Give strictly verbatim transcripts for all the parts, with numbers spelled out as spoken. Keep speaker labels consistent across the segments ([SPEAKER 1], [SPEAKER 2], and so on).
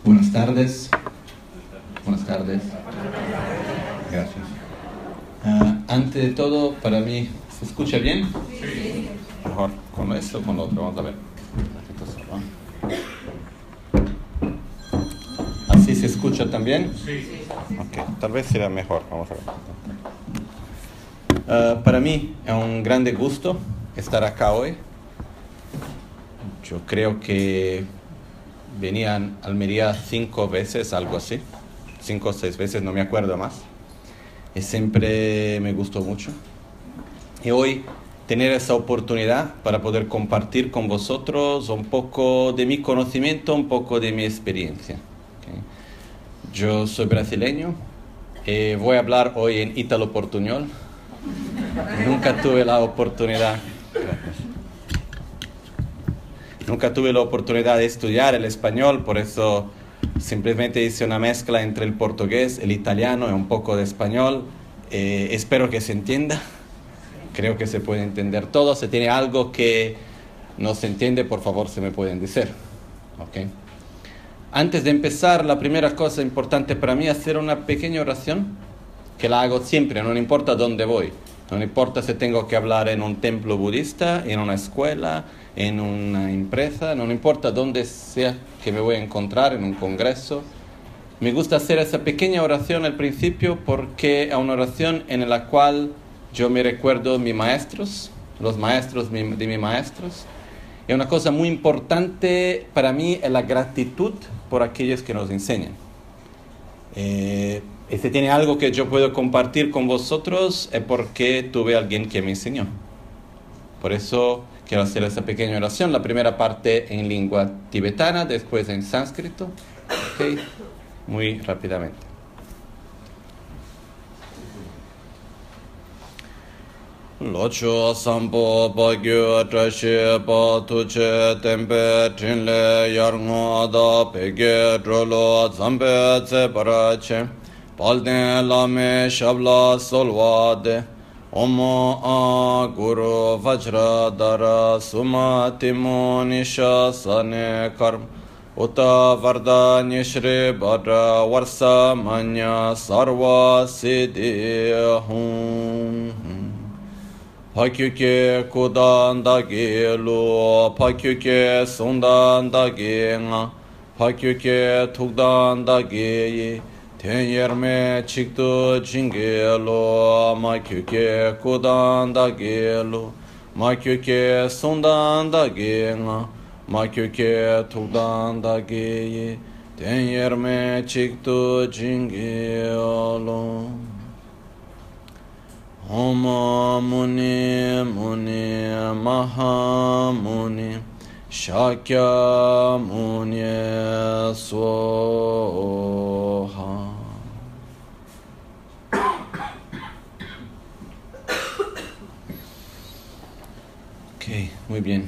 [SPEAKER 1] Buenas tardes. Buenas tardes. Gracias. Uh, antes de todo, para mí, ¿se escucha bien? Sí. Mejor con esto o con lo otro. Vamos a ver. ¿Así se escucha también? Sí. Ok, tal vez será mejor. Vamos a ver. Uh, para mí es un grande gusto estar acá hoy. Yo creo que venían a Almería cinco veces, algo así. Cinco o seis veces, no me acuerdo más. Y siempre me gustó mucho. Y hoy tener esa oportunidad para poder compartir con vosotros un poco de mi conocimiento, un poco de mi experiencia. ¿Okay? Yo soy brasileño. Eh, voy a hablar hoy en ítalo-portuñol. Nunca tuve la oportunidad... Nunca tuve la oportunidad de estudiar el español, por eso simplemente hice una mezcla entre el portugués, el italiano y un poco de español. Eh, espero que se entienda. Creo que se puede entender todo. Si tiene algo que no se entiende, por favor, se me pueden decir. ¿Okay? Antes de empezar, la primera cosa importante para mí es hacer una pequeña oración, que la hago siempre, no importa dónde voy. No importa si tengo que hablar en un templo budista, en una escuela, en una empresa, no importa dónde sea que me voy a encontrar, en un congreso. Me gusta hacer esa pequeña oración al principio porque es una oración en la cual yo me recuerdo mis maestros, los maestros de mis maestros. Y una cosa muy importante para mí es la gratitud por aquellos que nos enseñan. Eh, y si tiene algo que yo puedo compartir con vosotros es porque tuve a alguien que me enseñó. Por eso quiero hacer esa pequeña oración. La primera parte en lengua tibetana, después en sánscrito. ¿Okay? Muy rápidamente. Locho sampo pagyo trashe pa tuche tempe trinle yarngo da pege drolo zampe tse parache palden lame shabla solvade Omo a guru vajra dara suma timo nisha sane karm uta varda nishri badra varsa manya sarva siddhi hum Pakyuke kudan dagi lu pakyuke sundan dagi nga pakyuke tukdan dagi ten yerme chiktu jingelo makyuke kudan dagelo makyuke sundan dagenga makyuke tukdan dageye ten yerme chiktu jingelo Om Muni Muni Maha Muni Shakya Muni Swaha. Ok, muy bien.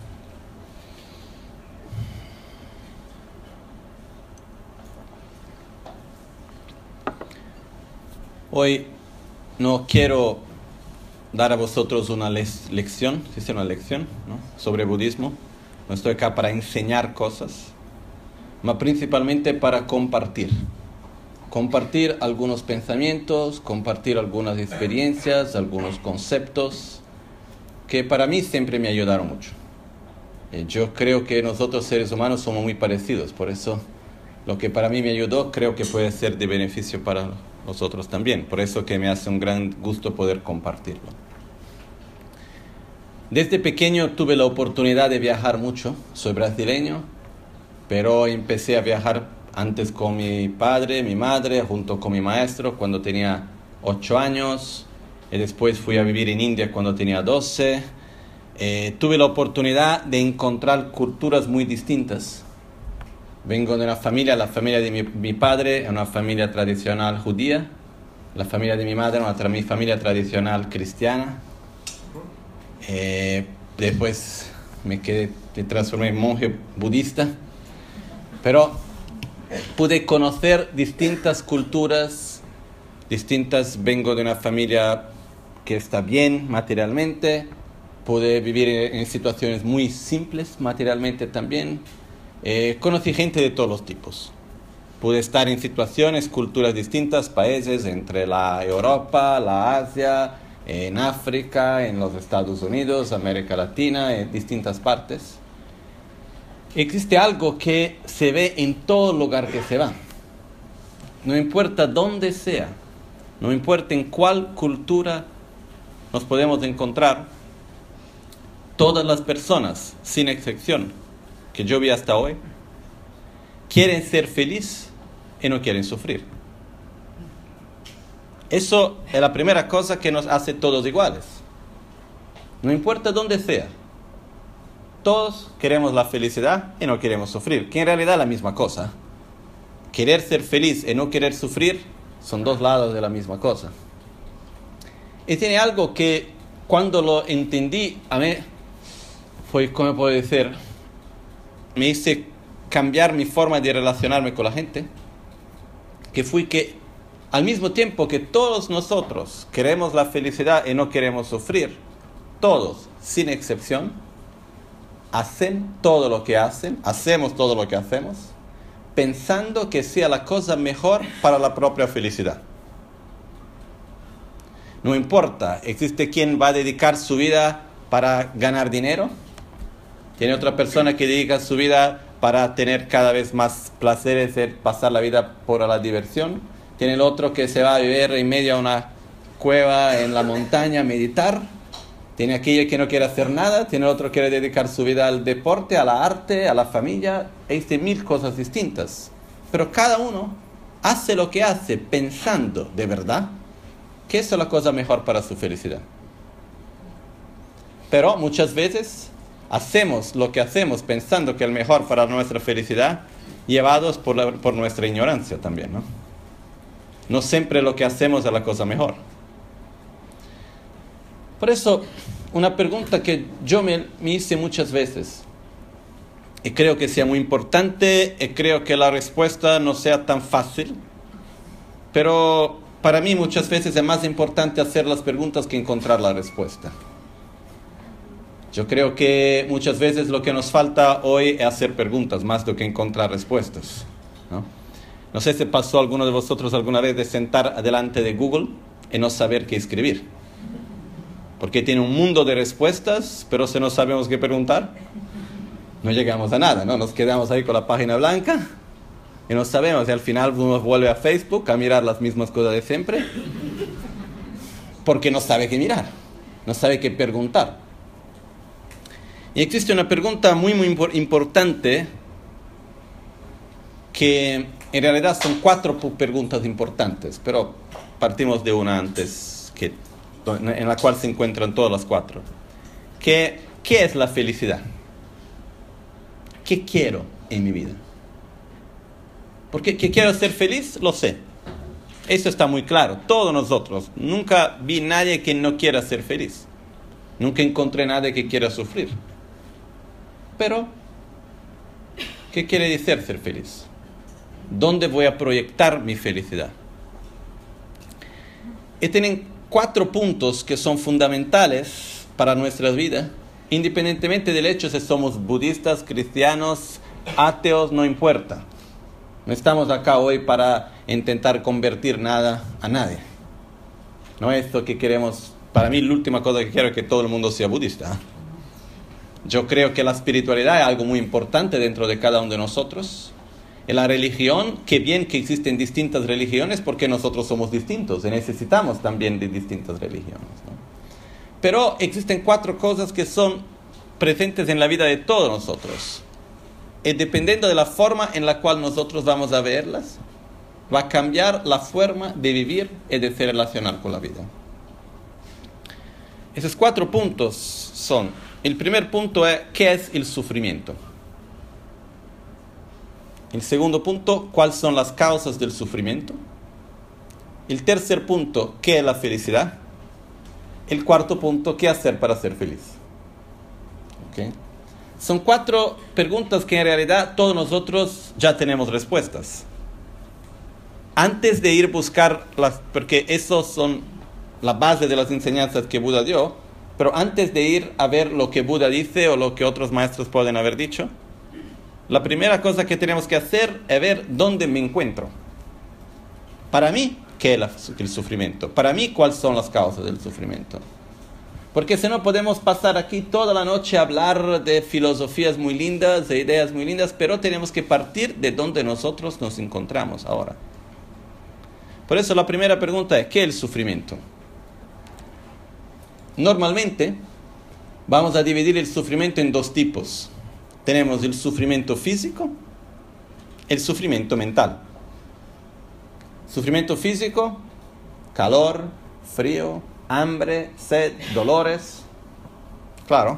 [SPEAKER 1] Hoy no quiero dar a vosotros una le- lección, ¿sí es una lección, ¿no? sobre budismo. No estoy acá para enseñar cosas, mas principalmente para compartir. Compartir algunos pensamientos, compartir algunas experiencias, algunos conceptos que para mí siempre me ayudaron mucho. Eh, yo creo que nosotros seres humanos somos muy parecidos, por eso lo que para mí me ayudó creo que puede ser de beneficio para nosotros también. Por eso que me hace un gran gusto poder compartirlo. Desde pequeño tuve la oportunidad de viajar mucho. Soy brasileño, pero empecé a viajar antes con mi padre, mi madre, junto con mi maestro cuando tenía ocho años. Y después fui a vivir en India cuando tenía doce. Eh, tuve la oportunidad de encontrar culturas muy distintas. Vengo de una familia, la familia de mi, mi padre es una familia tradicional judía, la familia de mi madre es una tra- mi familia tradicional cristiana. Eh, después me quedé, me transformé en monje budista, pero pude conocer distintas culturas, distintas. Vengo de una familia que está bien materialmente, pude vivir en, en situaciones muy simples materialmente también. Eh, conocí gente de todos los tipos. Pude estar en situaciones, culturas distintas, países entre la Europa, la Asia, en África, en los Estados Unidos, América Latina, en distintas partes. Existe algo que se ve en todo lugar que se va. No importa dónde sea, no importa en cuál cultura nos podemos encontrar, todas las personas, sin excepción, que yo vi hasta hoy, quieren ser felices y no quieren sufrir. Eso es la primera cosa que nos hace todos iguales. No importa dónde sea. Todos queremos la felicidad y no queremos sufrir, que en realidad es la misma cosa. Querer ser feliz y no querer sufrir son dos lados de la misma cosa. Y tiene algo que cuando lo entendí, a mí fue, ¿cómo puedo decir? Me hice cambiar mi forma de relacionarme con la gente, que fue que al mismo tiempo que todos nosotros queremos la felicidad y no queremos sufrir, todos, sin excepción, hacen todo lo que hacen, hacemos todo lo que hacemos, pensando que sea la cosa mejor para la propia felicidad. No importa, existe quien va a dedicar su vida para ganar dinero, tiene otra persona que dedica su vida para tener cada vez más placeres, pasar la vida por la diversión. Tiene el otro que se va a vivir en medio de una cueva en la montaña a meditar. Tiene aquella que no quiere hacer nada. Tiene el otro que quiere dedicar su vida al deporte, a la arte, a la familia. Existen mil cosas distintas. Pero cada uno hace lo que hace pensando de verdad que esa es la cosa mejor para su felicidad. Pero muchas veces hacemos lo que hacemos pensando que es mejor para nuestra felicidad, llevados por, la, por nuestra ignorancia también, ¿no? No siempre lo que hacemos es la cosa mejor. Por eso, una pregunta que yo me, me hice muchas veces, y creo que sea muy importante, y creo que la respuesta no sea tan fácil, pero para mí muchas veces es más importante hacer las preguntas que encontrar la respuesta. Yo creo que muchas veces lo que nos falta hoy es hacer preguntas más do que encontrar respuestas, ¿no? No sé si pasó a alguno de vosotros alguna vez de sentar delante de Google y no saber qué escribir. Porque tiene un mundo de respuestas, pero si no sabemos qué preguntar, no llegamos a nada, ¿no? Nos quedamos ahí con la página blanca y no sabemos. Y al final uno vuelve a Facebook a mirar las mismas cosas de siempre porque no sabe qué mirar, no sabe qué preguntar. Y existe una pregunta muy, muy importante que en realidad son cuatro preguntas importantes, pero partimos de una antes, que, en la cual se encuentran todas las cuatro. ¿Qué, qué es la felicidad? ¿Qué quiero en mi vida? Porque que quiero ser feliz, lo sé. Eso está muy claro. Todos nosotros. Nunca vi a nadie que no quiera ser feliz. Nunca encontré a nadie que quiera sufrir. Pero, ¿qué quiere decir ser feliz? ¿Dónde voy a proyectar mi felicidad? Y tienen cuatro puntos que son fundamentales para nuestras vidas, independientemente del hecho si somos budistas, cristianos, ateos, no importa. No estamos acá hoy para intentar convertir nada a nadie. No es lo que queremos. Para mí la última cosa que quiero es que todo el mundo sea budista. Yo creo que la espiritualidad es algo muy importante dentro de cada uno de nosotros. En la religión, qué bien que existen distintas religiones porque nosotros somos distintos y necesitamos también de distintas religiones, ¿no? Pero existen cuatro cosas que son presentes en la vida de todos nosotros. Y dependiendo de la forma en la cual nosotros vamos a verlas, va a cambiar la forma de vivir y de se relacionar con la vida. Esos cuatro puntos son: el primer punto es ¿qué es el sufrimiento? El segundo punto, ¿cuáles son las causas del sufrimiento? El tercer punto, ¿qué es la felicidad? El cuarto punto, ¿qué hacer para ser feliz? ¿Okay? Son cuatro preguntas que en realidad todos nosotros ya tenemos respuestas. Antes de ir a buscar las, porque esos son la base de las enseñanzas que Buda dio, pero antes de ir a ver lo que Buda dice o lo que otros maestros pueden haber dicho, la primera cosa que tenemos que hacer es ver dónde me encuentro. Para mí, ¿qué es el sufrimiento? Para mí, ¿cuáles son las causas del sufrimiento? Porque si no podemos pasar aquí toda la noche a hablar de filosofías muy lindas, de ideas muy lindas, pero tenemos que partir de donde nosotros nos encontramos ahora. Por eso la primera pregunta es, ¿qué es el sufrimiento? Normalmente vamos a dividir el sufrimiento en dos tipos. Tenemos el sufrimiento físico, el sufrimiento mental. Sufrimiento físico, calor, frío, hambre, sed, dolores. Claro.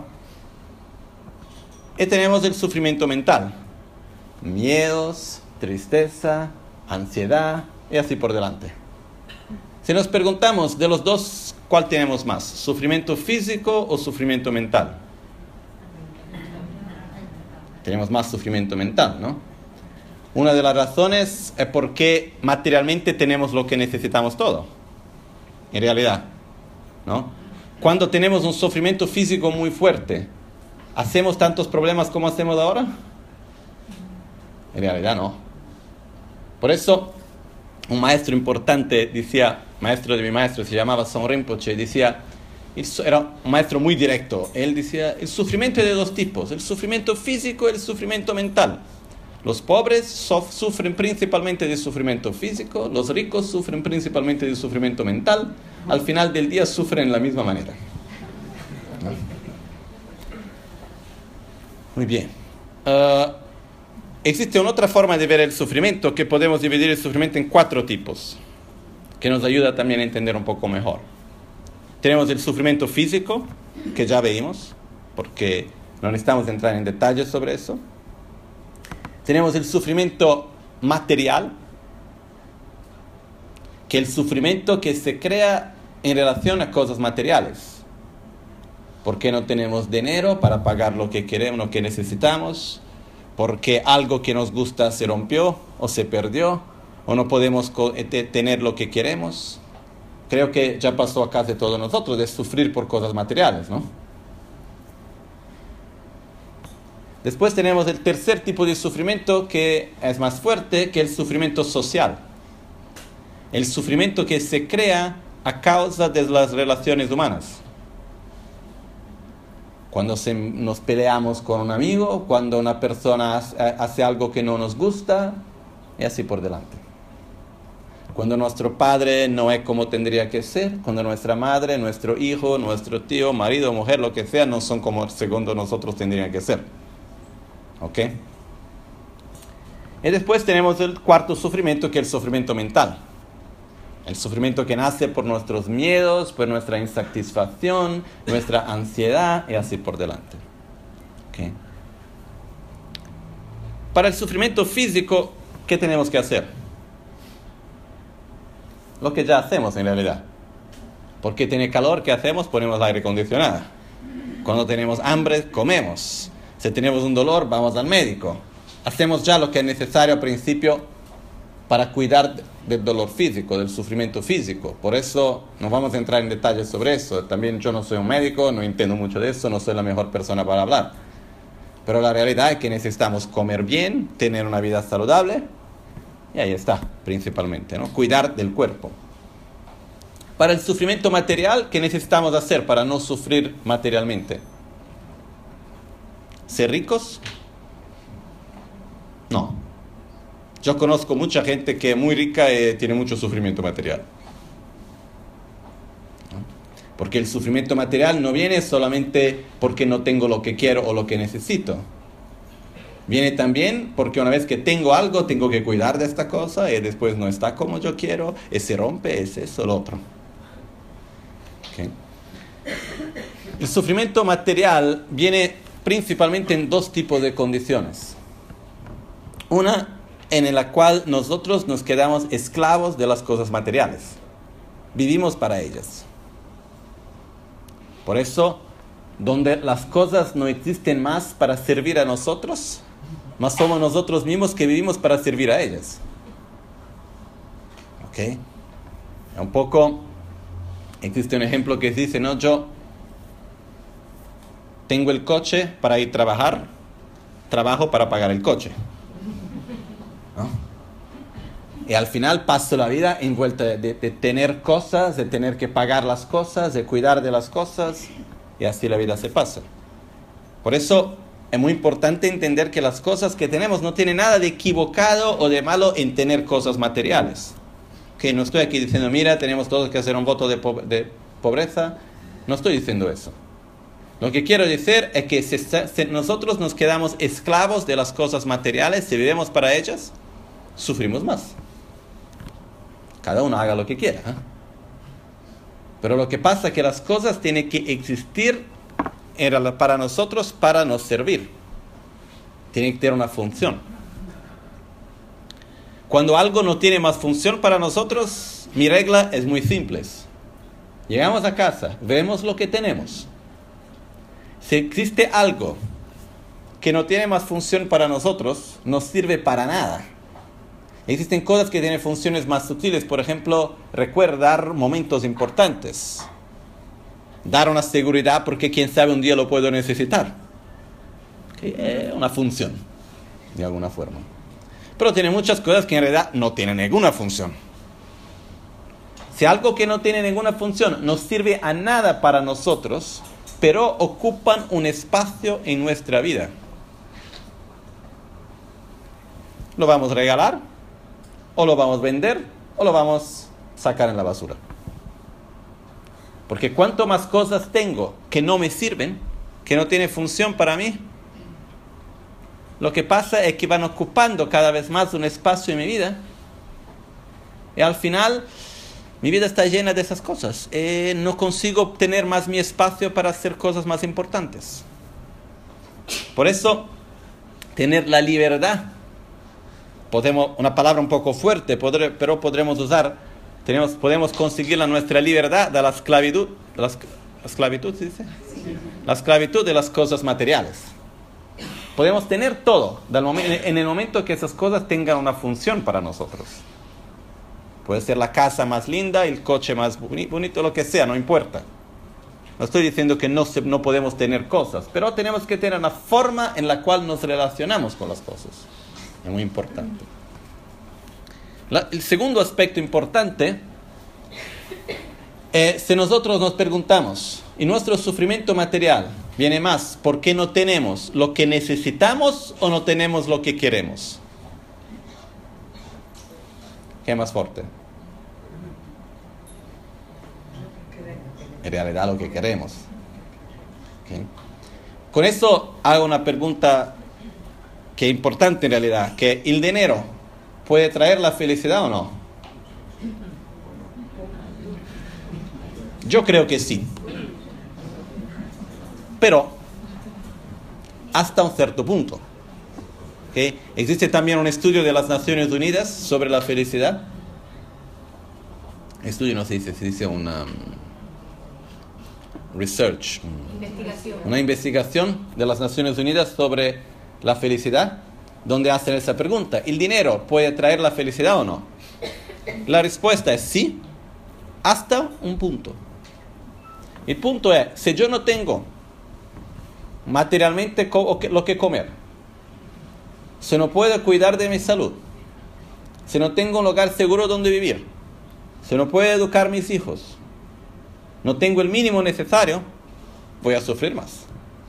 [SPEAKER 1] Y tenemos el sufrimiento mental. Miedos, tristeza, ansiedad y así por delante. Si nos preguntamos de los dos, ¿cuál tenemos más? ¿Sufrimiento físico o sufrimiento mental? Tenemos más sufrimiento mental, ¿no? Una de las razones es porque materialmente tenemos lo que necesitamos todo. En realidad, ¿no? Cuando tenemos un sufrimiento físico muy fuerte, ¿hacemos tantos problemas como hacemos ahora? En realidad no. Por eso, un maestro importante decía, maestro de mi maestro, se llamaba Son Rinpoche, decía, era un maestro muy directo, él decía, el sufrimiento es de dos tipos, el sufrimiento físico y el sufrimiento mental. Los pobres sof- sufren principalmente de sufrimiento físico, los ricos sufren principalmente de sufrimiento mental, al final del día sufren de la misma manera. ¿No? Muy bien. Uh, existe una otra forma de ver el sufrimiento, que podemos dividir el sufrimiento en cuatro tipos, que nos ayuda también a entender un poco mejor. Tenemos el sufrimiento físico, que ya veíamos, porque no necesitamos entrar en detalles sobre eso. Tenemos el sufrimiento material, que es el sufrimiento que se crea en relación a cosas materiales. Porque no tenemos dinero para pagar lo que queremos, lo que necesitamos, porque algo que nos gusta se rompió o se perdió, o no podemos tener lo que queremos. Creo que ya pasó a casi todos nosotros de sufrir por cosas materiales, ¿no? Después tenemos el tercer tipo de sufrimiento, que es más fuerte, que es el sufrimiento social. El sufrimiento que se crea a causa de las relaciones humanas. Cuando se, nos peleamos con un amigo, cuando una persona hace algo que no nos gusta, y así por delante. Cuando nuestro padre no es como tendría que ser, cuando nuestra madre, nuestro hijo, nuestro tío, marido, mujer, lo que sea, no son como según nosotros tendrían que ser. ¿Ok? Y después tenemos el cuarto sufrimiento, que es el sufrimiento mental. El sufrimiento que nace por nuestros miedos, por nuestra insatisfacción, nuestra ansiedad y así por delante. ¿Ok? Para el sufrimiento físico, ¿qué tenemos que hacer? Lo que ya hacemos en realidad. Porque tiene calor, ¿qué hacemos? Ponemos aire acondicionado. Cuando tenemos hambre, comemos. Si tenemos un dolor, vamos al médico. Hacemos ya lo que es necesario al principio para cuidar del dolor físico, del sufrimiento físico. Por eso no vamos a entrar en detalles sobre eso. También yo no soy un médico, no entiendo mucho de eso, no soy la mejor persona para hablar. Pero la realidad es que necesitamos comer bien, tener una vida saludable, y ahí está, principalmente, ¿no? Cuidar del cuerpo. Para el sufrimiento material, ¿qué necesitamos hacer para no sufrir materialmente? ¿Ser ricos? No. Yo conozco mucha gente que es muy rica y tiene mucho sufrimiento material. Porque el sufrimiento material no viene solamente porque no tengo lo que quiero o lo que necesito. Viene también porque una vez que tengo algo, tengo que cuidar de esta cosa y después no está como yo quiero, y se rompe, es eso, lo otro. ¿Okay? El sufrimiento material viene principalmente en dos tipos de condiciones. Una en la cual nosotros nos quedamos esclavos de las cosas materiales. Vivimos para ellas. Por eso, donde las cosas no existen más para servir a nosotros, más somos nosotros mismos que vivimos para servir a ellas. ¿Ok? Un poco, existe un ejemplo que dice, no, yo tengo el coche para ir a trabajar, trabajo para pagar el coche, ¿no? Y al final paso la vida envuelta de, de, de tener cosas, de tener que pagar las cosas, de cuidar de las cosas, y así la vida se pasa. Por eso es muy importante entender que las cosas que tenemos no tienen nada de equivocado o de malo en tener cosas materiales. Que no estoy aquí diciendo, mira, tenemos todos que hacer un voto de, po- de pobreza. No estoy diciendo eso. Lo que quiero decir es que si, si nosotros nos quedamos esclavos de las cosas materiales, si vivimos para ellas, sufrimos más. Cada uno haga lo que quiera, ¿eh? Pero lo que pasa es que las cosas tienen que existir para nosotros, para nos servir. Tienen que tener una función. Cuando algo no tiene más función para nosotros, mi regla es muy simple. Llegamos a casa, vemos lo que tenemos. Si existe algo que no tiene más función para nosotros, no sirve para nada. Existen cosas que tienen funciones más sutiles, por ejemplo, recordar momentos importantes. Dar una seguridad porque quién sabe un día lo puedo necesitar. ¿Okay? Es una función, de alguna forma. Pero tiene muchas cosas que en realidad no tienen ninguna función. Si algo que no tiene ninguna función no sirve a nada para nosotros, pero ocupan un espacio en nuestra vida, ¿lo vamos a regalar? ¿O lo vamos a vender? ¿O lo vamos a sacar en la basura? Porque cuanto más cosas tengo que no me sirven, que no tienen función para mí, lo que pasa es que van ocupando cada vez más un espacio en mi vida. Y al final, mi vida está llena de esas cosas. Eh, no consigo obtener más mi espacio para hacer cosas más importantes. Por eso, tener la libertad, podemos, una palabra un poco fuerte, podré, pero podremos usar, tenemos, podemos conseguir la nuestra libertad de la esclavitud, de la esclavitud, ¿se dice? Sí. La esclavitud de las cosas materiales. Podemos tener todo en el momento que esas cosas tengan una función para nosotros. Puede ser la casa más linda, el coche más bonito, lo que sea, no importa. No estoy diciendo que no, se, no podemos tener cosas, pero tenemos que tener una forma en la cual nos relacionamos con las cosas. Es muy importante. La, el segundo aspecto importante es si nosotros nos preguntamos, ¿y nuestro sufrimiento material viene más porque no tenemos lo que necesitamos o no tenemos lo que queremos? ¿Qué es más fuerte? En realidad lo que queremos. ¿Okay? Con eso hago una pregunta que es importante en realidad, que ¿el dinero puede traer la felicidad o no? Yo creo que sí. Pero hasta un cierto punto. ¿Okay? Existe también un estudio de las Naciones Unidas sobre la felicidad. Estudio no se dice, se dice una um, research. Investigación. Una investigación de las Naciones Unidas sobre la felicidad, donde hacen esa pregunta. ¿El dinero puede traer la felicidad o no? La respuesta es sí, hasta un punto. El punto es, si yo no tengo materialmente lo que comer, si no puedo cuidar de mi salud, si no tengo un lugar seguro donde vivir, si no puedo educar a mis hijos, no tengo el mínimo necesario, voy a sufrir más.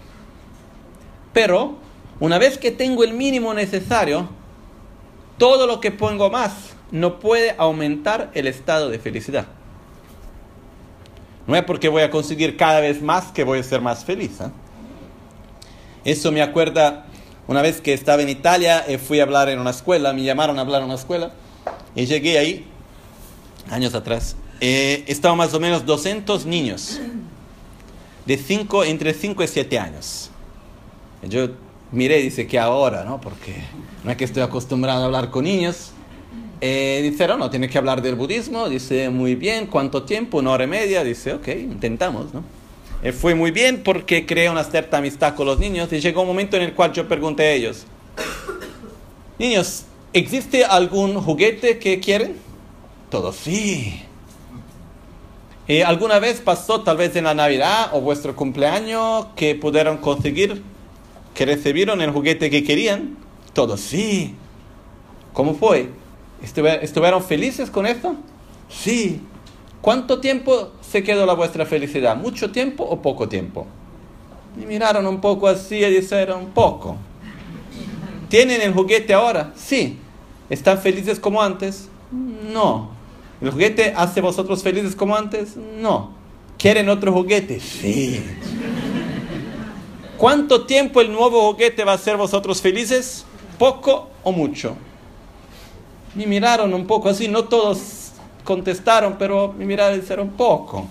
[SPEAKER 1] Pero una vez que tengo el mínimo necesario, todo lo que pongo más no puede aumentar el estado de felicidad. No es porque voy a conseguir cada vez más que voy a ser más feliz, ¿eh? Eso me acuerda una vez que estaba en Italia, eh, fui a hablar en una escuela, me llamaron a hablar en una escuela, y llegué ahí, años atrás, eh, estaban más o menos doscientos niños, de cinco, entre cinco y siete años. Yo miré y dice que ahora, ¿no? Porque no es que estoy acostumbrado a hablar con niños. Eh, dice, no, no, tiene que hablar del budismo. Dice, muy bien, ¿cuánto tiempo? Una hora y media. Dice, ok, intentamos, ¿no? Eh, fue muy bien porque creé una cierta amistad con los niños y llegó un momento en el cual yo pregunté a ellos, niños, ¿existe algún juguete que quieren? Todos, sí. Eh, ¿Alguna vez pasó, tal vez en la Navidad o vuestro cumpleaños, que pudieron conseguir ¿Que recibieron el juguete que querían? Todos, sí. ¿Cómo fue? ¿Estuvieron felices con esto? Sí. ¿Cuánto tiempo se quedó la vuestra felicidad? ¿Mucho tiempo o poco tiempo? Y miraron un poco así y dijeron, poco. ¿Tienen el juguete ahora? Sí. ¿Están felices como antes? No. ¿El juguete hace vosotros felices como antes? No. ¿Quieren otro juguete? Sí. ¿Cuánto tiempo el nuevo juguete va a hacer vosotros felices? ¿Poco o mucho? Me miraron un poco así, no todos contestaron, pero me miraron y dijeron poco.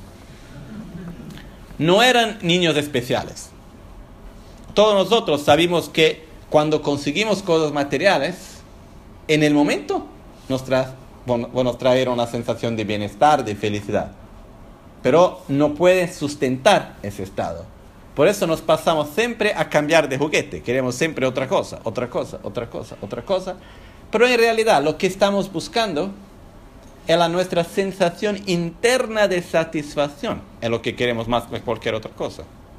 [SPEAKER 1] No eran niños especiales. Todos nosotros sabemos que cuando conseguimos cosas materiales, en el momento nos, tra- nos traen una sensación de bienestar, de felicidad. Pero no puede sustentar ese estado. Por eso nos pasamos siempre a cambiar de juguete. Queremos siempre otra cosa, otra cosa, otra cosa, otra cosa. Pero en realidad lo que estamos buscando es la nuestra sensación interna de satisfacción. Es lo que queremos más que cualquier otra cosa.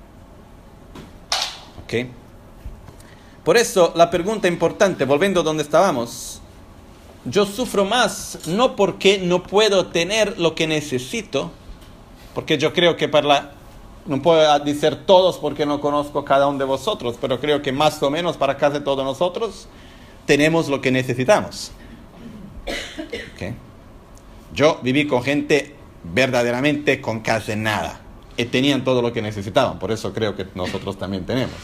[SPEAKER 1] ¿Ok? Por eso la pregunta importante, volviendo a donde estábamos. Yo sufro más no porque no puedo tener lo que necesito, porque yo creo que para la... No puedo decir todos porque no conozco cada uno de vosotros, pero creo que más o menos para casi todos nosotros tenemos lo que necesitamos. ¿Okay? Yo viví con gente verdaderamente con casi nada y tenían todo lo que necesitaban, por eso creo que nosotros también tenemos.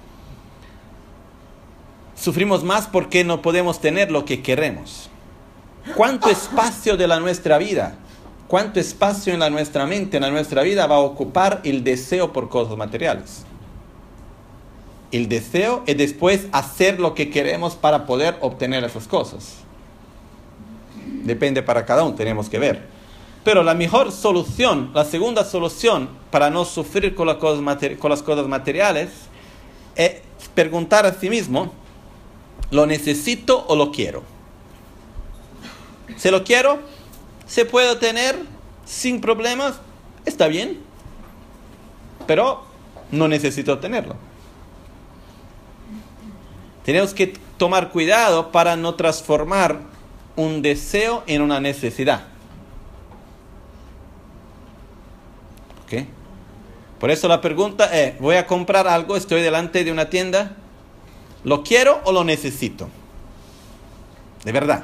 [SPEAKER 1] Sufrimos más porque no podemos tener lo que queremos. ¿Cuánto espacio de la nuestra vida? ¿Cuánto espacio en la nuestra mente, en la nuestra vida va a ocupar el deseo por cosas materiales? El deseo es después hacer lo que queremos para poder obtener esas cosas. Depende para cada uno, tenemos que ver. Pero la mejor solución, la segunda solución para no sufrir con las cosas, materi- con las cosas materiales es preguntar a sí mismo, ¿lo necesito o lo quiero? Si lo quiero, se puede tener sin problemas, está bien, pero no necesito tenerlo. Tenemos que tomar cuidado para no transformar un deseo en una necesidad. ¿Ok? Por eso la pregunta es, voy a comprar algo, estoy delante de una tienda, ¿lo quiero o lo necesito? De verdad.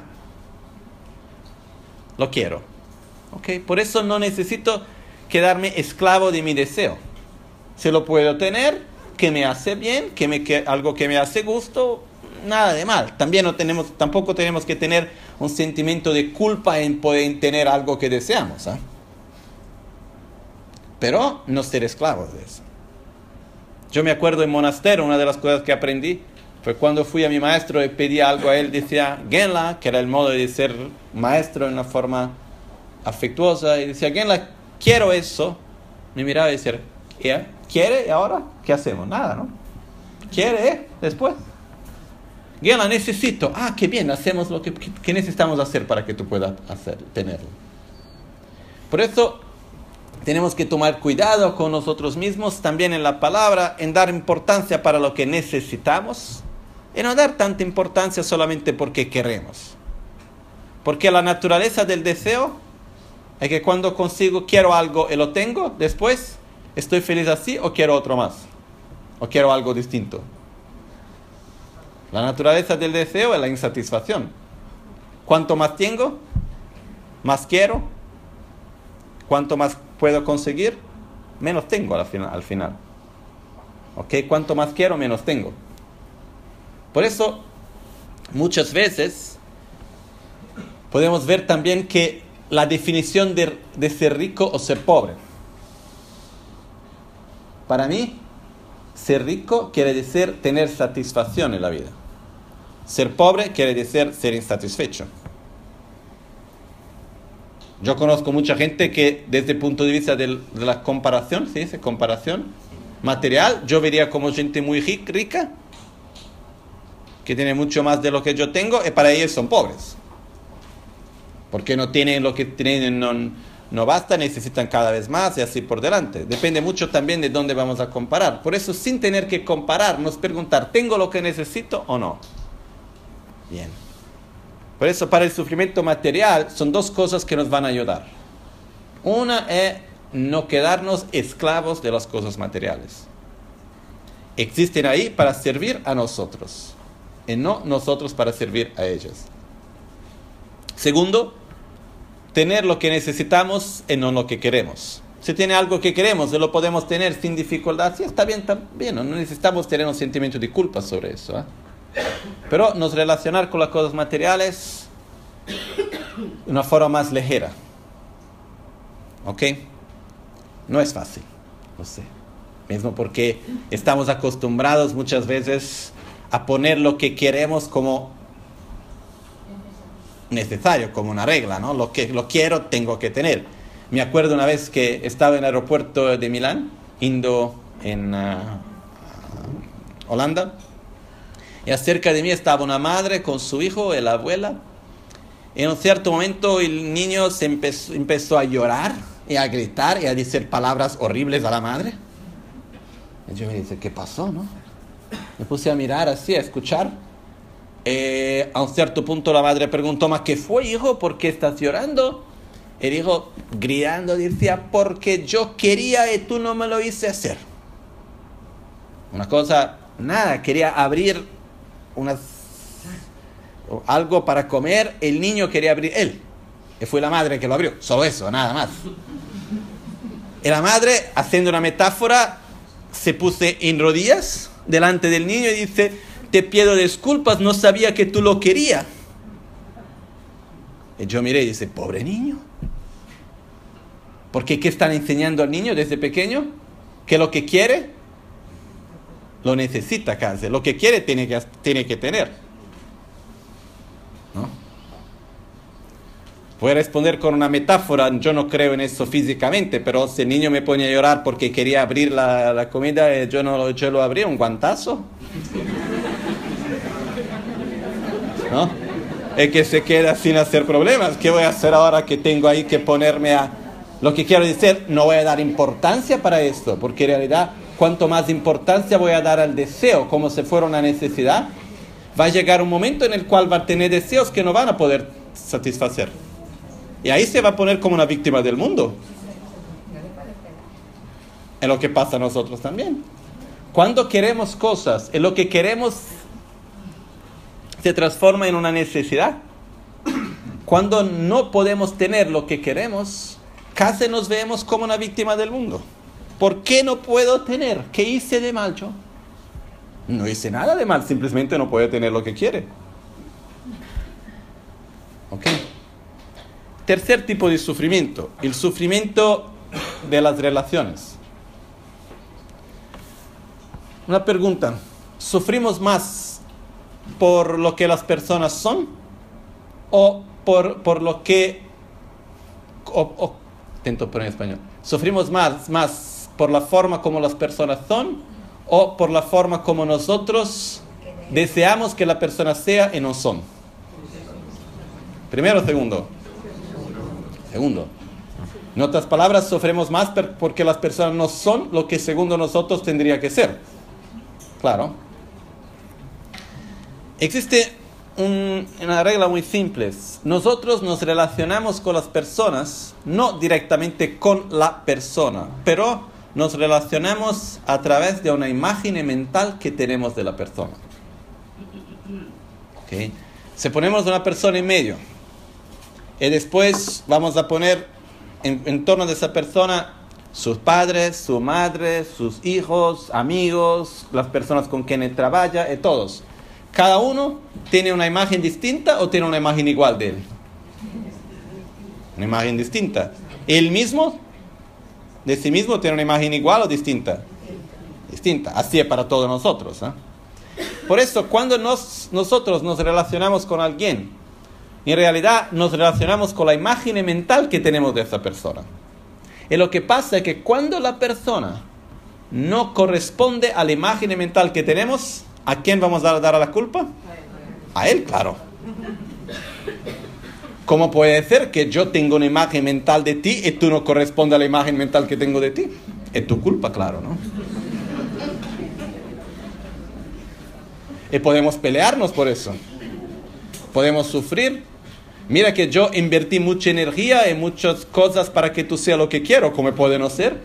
[SPEAKER 1] Lo quiero. ¿Ok? Por eso no necesito quedarme esclavo de mi deseo. Si lo puedo tener, que me hace bien, que me, que, algo que me hace gusto, nada de mal. También no tenemos, tampoco tenemos que tener un sentimiento de culpa en poder tener algo que deseamos. ¿eh? Pero no ser esclavos de eso. Yo me acuerdo en monasterio, una de las cosas que aprendí fue cuando fui a mi maestro y pedí algo a él, decía Genla, que era el modo de ser maestro en una forma afectuosa, y decía Genla, quiero eso. Me miraba y decía, ¿quiere? ¿Y ahora? ¿Qué hacemos? Nada, ¿no? ¿Quiere? ¿Eh? Después. Genla, necesito. Ah, qué bien, hacemos lo que, que necesitamos hacer para que tú puedas hacer, tenerlo. Por eso tenemos que tomar cuidado con nosotros mismos, también en la palabra, en dar importancia para lo que necesitamos, y no dar tanta importancia solamente porque queremos. Porque la naturaleza del deseo es que cuando consigo, quiero algo y lo tengo, después estoy feliz así o quiero otro más, o quiero algo distinto. La naturaleza del deseo es la insatisfacción. Cuanto más tengo, más quiero. Cuanto más puedo conseguir, menos tengo al final. Al final. ¿Ok? Cuanto más quiero, menos tengo. Por eso, muchas veces, podemos ver también que la definición de, de ser rico o ser pobre. Para mí, ser rico quiere decir tener satisfacción en la vida. Ser pobre quiere decir ser insatisfecho. Yo conozco mucha gente que desde el punto de vista de la comparación, ¿sí? ¿Sí? Comparación material, yo vería como gente muy rica, que tiene mucho más de lo que yo tengo, y para ellos son pobres. Porque no tienen lo que tienen un, no basta, necesitan cada vez más y así por delante. Depende mucho también de dónde vamos a comparar. Por eso, sin tener que comparar, nos preguntar, ¿tengo lo que necesito o no? Bien. Por eso, para el sufrimiento material, son dos cosas que nos van a ayudar. Una es no quedarnos esclavos de las cosas materiales. Existen ahí para servir a nosotros, y no nosotros para servir a ellas. Segundo, tener lo que necesitamos y no lo que queremos. Si tiene algo que queremos y lo podemos tener sin dificultad, sí, está bien también. No necesitamos tener un sentimiento de culpa sobre eso, ¿eh? Pero nos relacionar con las cosas materiales de una forma más ligera. ¿Ok? No es fácil, lo sé. Mismo porque estamos acostumbrados muchas veces a poner lo que queremos como necesario, como una regla, ¿no? Lo que lo quiero, tengo que tener. Me acuerdo una vez que estaba en el aeropuerto de Milán, yendo en uh, Holanda, y acerca de mí estaba una madre con su hijo y la abuela. En un cierto momento el niño se empezó, empezó a llorar y a gritar y a decir palabras horribles a la madre. Y yo me dije, ¿qué pasó, no? Me puse a mirar así, a escuchar. Eh, a un cierto punto la madre preguntó, ¿más qué fue, hijo? ¿Por qué estás llorando? El hijo, gritando, decía, porque yo quería y tú no me lo hice hacer. Una cosa, nada, quería abrir unas, algo para comer, el niño quería abrir él. Y fue la madre que lo abrió, solo eso, nada más. Y la madre, haciendo una metáfora, se puso en rodillas delante del niño y dice, te pido disculpas, no sabía que tú lo querías. Y yo miré y dice, pobre niño. Porque ¿qué están enseñando al niño desde pequeño? Que lo que quiere, lo necesita casi. Lo que quiere tiene que, tiene que tener. ¿No? Voy a responder con una metáfora. Yo no creo en eso físicamente, pero si el niño me pone a llorar porque quería abrir la, la comida, yo, no, yo lo abrí, un guantazo. ¿No? Es que se queda sin hacer problemas. ¿Qué voy a hacer ahora que tengo ahí que ponerme a... Lo que quiero decir, no voy a dar importancia para esto, porque en realidad, cuanto más importancia voy a dar al deseo, como si fuera una necesidad, va a llegar un momento en el cual va a tener deseos que no van a poder satisfacer. Y ahí se va a poner como una víctima del mundo. Es lo que pasa a nosotros también. Cuando queremos cosas, en lo que queremos se transforma en una necesidad. Cuando no podemos tener lo que queremos, casi nos vemos como una víctima del mundo. ¿Por qué no puedo tener? ¿Qué hice de mal yo? No hice nada de mal, simplemente no puede tener lo que quiere. ¿Ok? Tercer tipo de sufrimiento, el sufrimiento de las relaciones. Una pregunta, ¿sufrimos más por lo que las personas son o por, por lo que... O, o, intento poner en español. ¿Sufrimos más, más por la forma como las personas son o por la forma como nosotros deseamos que la persona sea y no son? Primero o segundo. Segundo. En otras palabras, sufrimos más porque las personas no son lo que según nosotros tendría que ser. Claro. Existe un, una regla muy simple. Nosotros nos relacionamos con las personas, no directamente con la persona, pero nos relacionamos a través de una imagen mental que tenemos de la persona. ¿Okay? Si ponemos una persona en medio, y después vamos a poner en, en torno de esa persona sus padres, su madre, sus hijos, amigos, las personas con quienes trabaja y todos. ¿Cada uno tiene una imagen distinta o tiene una imagen igual de él? Una imagen distinta. ¿Él mismo, de sí mismo, tiene una imagen igual o distinta? Distinta. Así es para todos nosotros, ¿eh? Por eso, cuando nos, nosotros nos relacionamos con alguien, en realidad nos relacionamos con la imagen mental que tenemos de esa persona. Y lo que pasa es que cuando la persona no corresponde a la imagen mental que tenemos, ¿a quién vamos a dar la culpa? A él, claro. ¿Cómo puede ser que yo tengo una imagen mental de ti y tú no corresponde a la imagen mental que tengo de ti? Es tu culpa, claro, ¿no? Y podemos pelearnos por eso. Podemos sufrir. Mira que yo invertí mucha energía en muchas cosas para que tú seas lo que quiero. ¿Cómo puede no ser?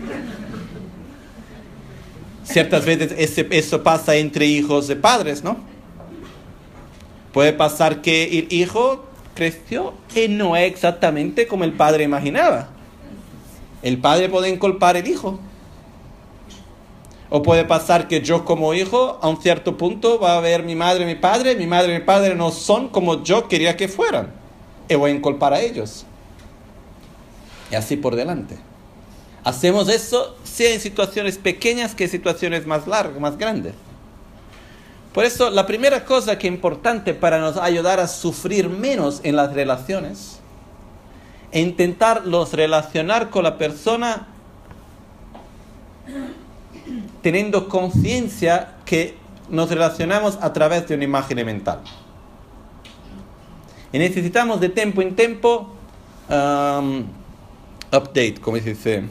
[SPEAKER 1] Ciertas veces ese, eso pasa entre hijos de padres, ¿no? Puede pasar que el hijo creció y no es exactamente como el padre imaginaba. El padre puede inculpar al hijo. O puede pasar que yo como hijo, a un cierto punto, va a ver mi madre y mi padre, mi madre y mi padre no son como yo quería que fueran. Y voy a inculpar a ellos. Y así por delante. Hacemos eso sea en situaciones pequeñas que en situaciones más largas, más grandes. Por eso, la primera cosa que es importante para nos ayudar a sufrir menos en las relaciones es intentarlos relacionar con la persona teniendo conciencia que nos relacionamos a través de una imagen mental. Y necesitamos de tiempo en tiempo um, update, como se dice,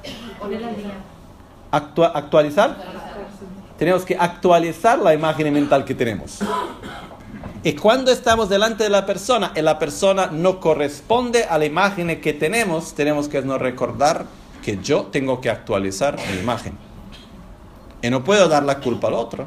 [SPEAKER 1] Actua- actualizar. Tenemos que actualizar la imagen mental que tenemos. Y cuando estamos delante de la persona y la persona no corresponde a la imagen que tenemos, tenemos que nos recordar que yo tengo que actualizar mi imagen. Y no puedo dar la culpa al otro.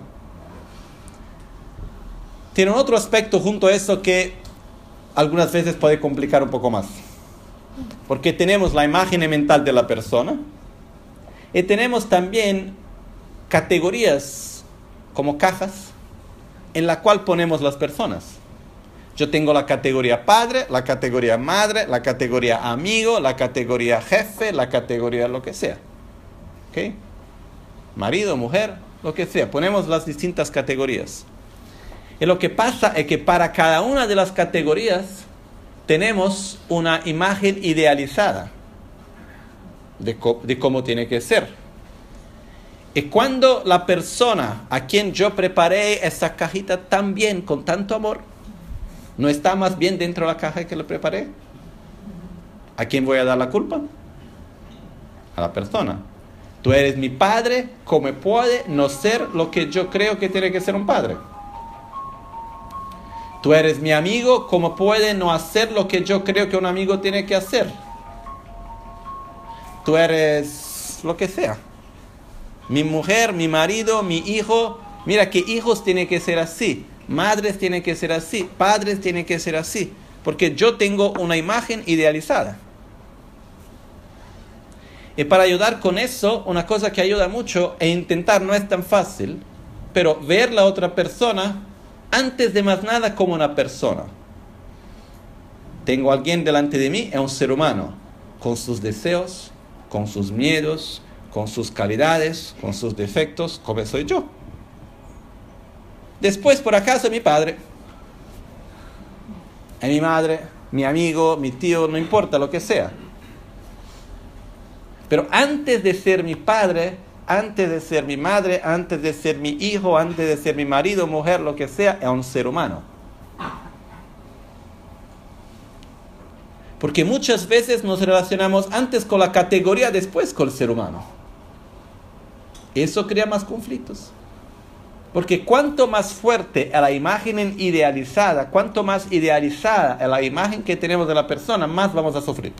[SPEAKER 1] Tiene un otro aspecto junto a eso que algunas veces puede complicar un poco más. Porque tenemos la imagen mental de la persona y tenemos también categorías como cajas en la cual ponemos las personas. Yo tengo la categoría padre, la categoría madre, la categoría amigo, la categoría jefe, la categoría lo que sea. ¿Ok? Marido, mujer, lo que sea. Ponemos las distintas categorías. Y lo que pasa es que para cada una de las categorías tenemos una imagen idealizada de, co- de cómo tiene que ser. Y cuando la persona a quien yo preparé esa cajita tan bien, con tanto amor, no está más bien dentro de la caja que le preparé, ¿a quién voy a dar la culpa? A la persona. Tú eres mi padre, ¿cómo puede no ser lo que yo creo que tiene que ser un padre? Tú eres mi amigo, ¿cómo puede no hacer lo que yo creo que un amigo tiene que hacer? Tú eres lo que sea. Mi mujer, mi marido, mi hijo. Mira que hijos tienen que ser así. Madres tienen que ser así. Padres tienen que ser así. Porque yo tengo una imagen idealizada. Y para ayudar con eso, una cosa que ayuda mucho e intentar, no es tan fácil, pero ver la otra persona antes de más nada como una persona. Tengo a alguien delante de mí, es un ser humano, con sus deseos, con sus miedos, con sus calidades, con sus defectos, como soy yo. Después, por acaso, mi padre, es mi madre, mi amigo, mi tío, no importa lo que sea. Pero antes de ser mi padre, antes de ser mi madre, antes de ser mi hijo, antes de ser mi marido, mujer, lo que sea, es un ser humano. Porque muchas veces nos relacionamos antes con la categoría, después con el ser humano. Eso crea más conflictos. Porque cuanto más fuerte es la imagen idealizada, cuanto más idealizada es la imagen que tenemos de la persona, más vamos a sufrir.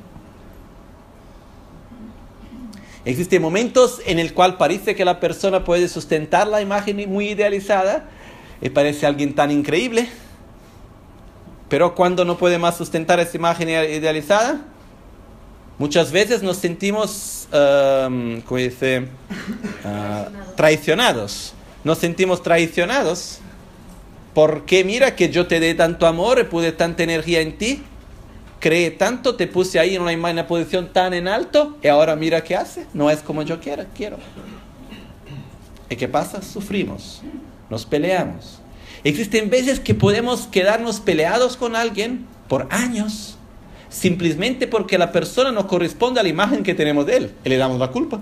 [SPEAKER 1] Existen momentos en el cual parece que la persona puede sustentar la imagen muy idealizada y parece alguien tan increíble, pero cuando no puede más sustentar esa imagen idealizada, muchas veces nos sentimos, um, ¿cómo dice? Uh, traicionados. Nos sentimos traicionados porque mira que yo te dé tanto amor y puse tanta energía en ti, creé tanto, te puse ahí en una, en una posición tan en alto y ahora mira qué hace, no es como yo quiera, quiero. ¿Y qué pasa? Sufrimos, nos peleamos. Existen veces que podemos quedarnos peleados con alguien por años, simplemente porque la persona no corresponde a la imagen que tenemos de él y le damos la culpa.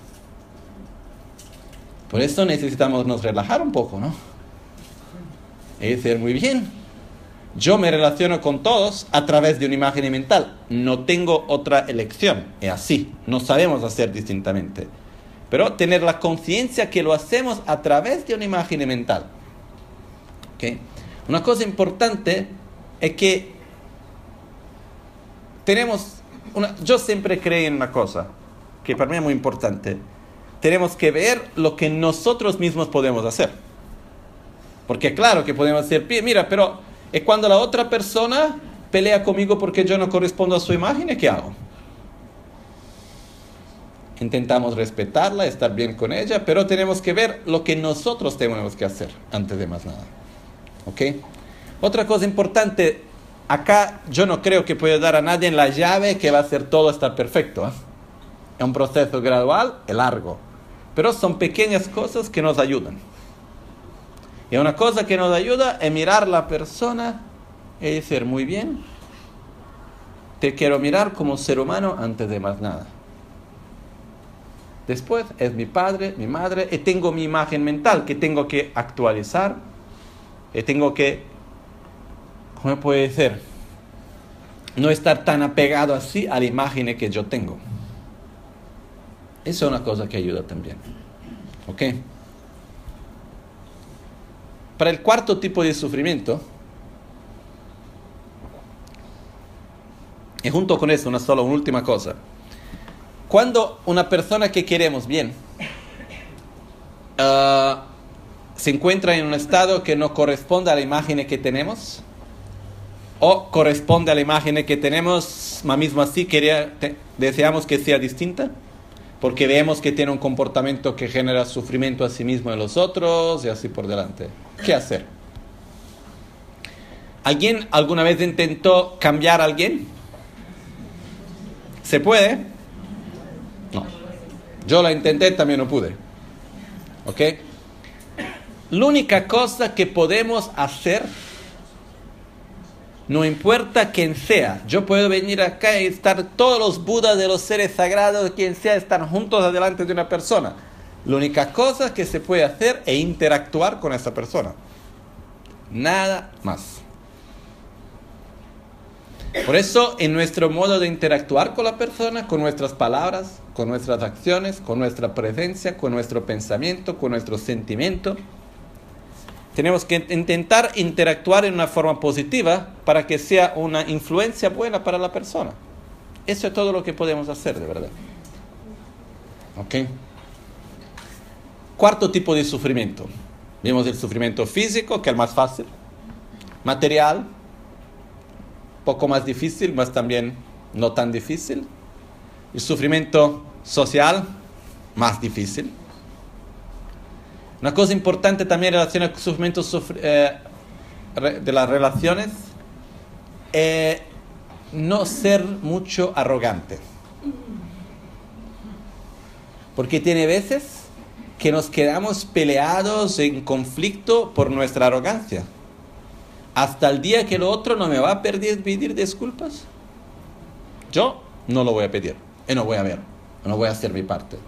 [SPEAKER 1] Por eso necesitamos nos relajar un poco, ¿no? Y dice, muy bien, yo me relaciono con todos a través de una imagen mental. No tengo otra elección. Es así, no sabemos hacer distintamente. Pero tener la conciencia que lo hacemos a través de una imagen mental. ¿Okay? Una cosa importante es que tenemos, una, yo siempre creí en una cosa, que para mí es muy importante. Tenemos que ver lo que nosotros mismos podemos hacer. Porque claro que podemos decir, mira, pero es cuando la otra persona pelea conmigo porque yo no correspondo a su imagen, ¿qué hago? Intentamos respetarla, estar bien con ella, pero tenemos que ver lo que nosotros tenemos que hacer antes de más nada. ¿Ok? Otra cosa importante, acá yo no creo que pueda dar a nadie la llave que va a hacer todo estar perfecto. ¿eh? Es un proceso gradual, es largo, pero son pequeñas cosas que nos ayudan. Y una cosa que nos ayuda es mirar a la persona y decir, muy bien, te quiero mirar como ser humano antes de más nada. Después es mi padre, mi madre, y tengo mi imagen mental que tengo que actualizar, y tengo que, ¿cómo puede ser? No estar tan apegado así a la imagen que yo tengo. Eso es una cosa que ayuda también. ¿Ok? Para el cuarto tipo de sufrimiento, y junto con eso, una sola, una última cosa. Cuando una persona que queremos bien uh, se encuentra en un estado que no corresponde a la imagen que tenemos, o corresponde a la imagen que tenemos, mas mismo así quería, te, deseamos que sea distinta, porque vemos que tiene un comportamiento que genera sufrimiento a sí mismo en los otros, y así por delante. ¿Qué hacer? ¿Alguien alguna vez intentó cambiar a alguien? ¿Se puede? No. Yo la intenté, también no pude. ¿Ok? La única cosa que podemos hacer, no importa quién sea, yo puedo venir acá y estar todos los budas de los seres sagrados, quien sea, están juntos adelante de una persona. La única cosa que se puede hacer es interactuar con esa persona. Nada más. Por eso, en nuestro modo de interactuar con la persona, con nuestras palabras, con nuestras acciones, con nuestra presencia, con nuestro pensamiento, con nuestro sentimiento, tenemos que intentar interactuar en una forma positiva para que sea una influencia buena para la persona. Eso es todo lo que podemos hacer, de verdad. ¿Ok? Cuarto tipo de sufrimiento. Vimos el sufrimiento físico, que es el más fácil. Material, poco más difícil, mas también no tan difícil. El sufrimiento social, más difícil. Una cosa importante también en relación al sufrimiento sufri- eh, de las relaciones, eh, no ser mucho arrogante. Porque tiene veces que nos quedamos peleados en conflicto por nuestra arrogancia. Hasta el día que el otro no me va a pedir, pedir disculpas, yo no lo voy a pedir. Y no voy a ver, no voy a hacer mi parte.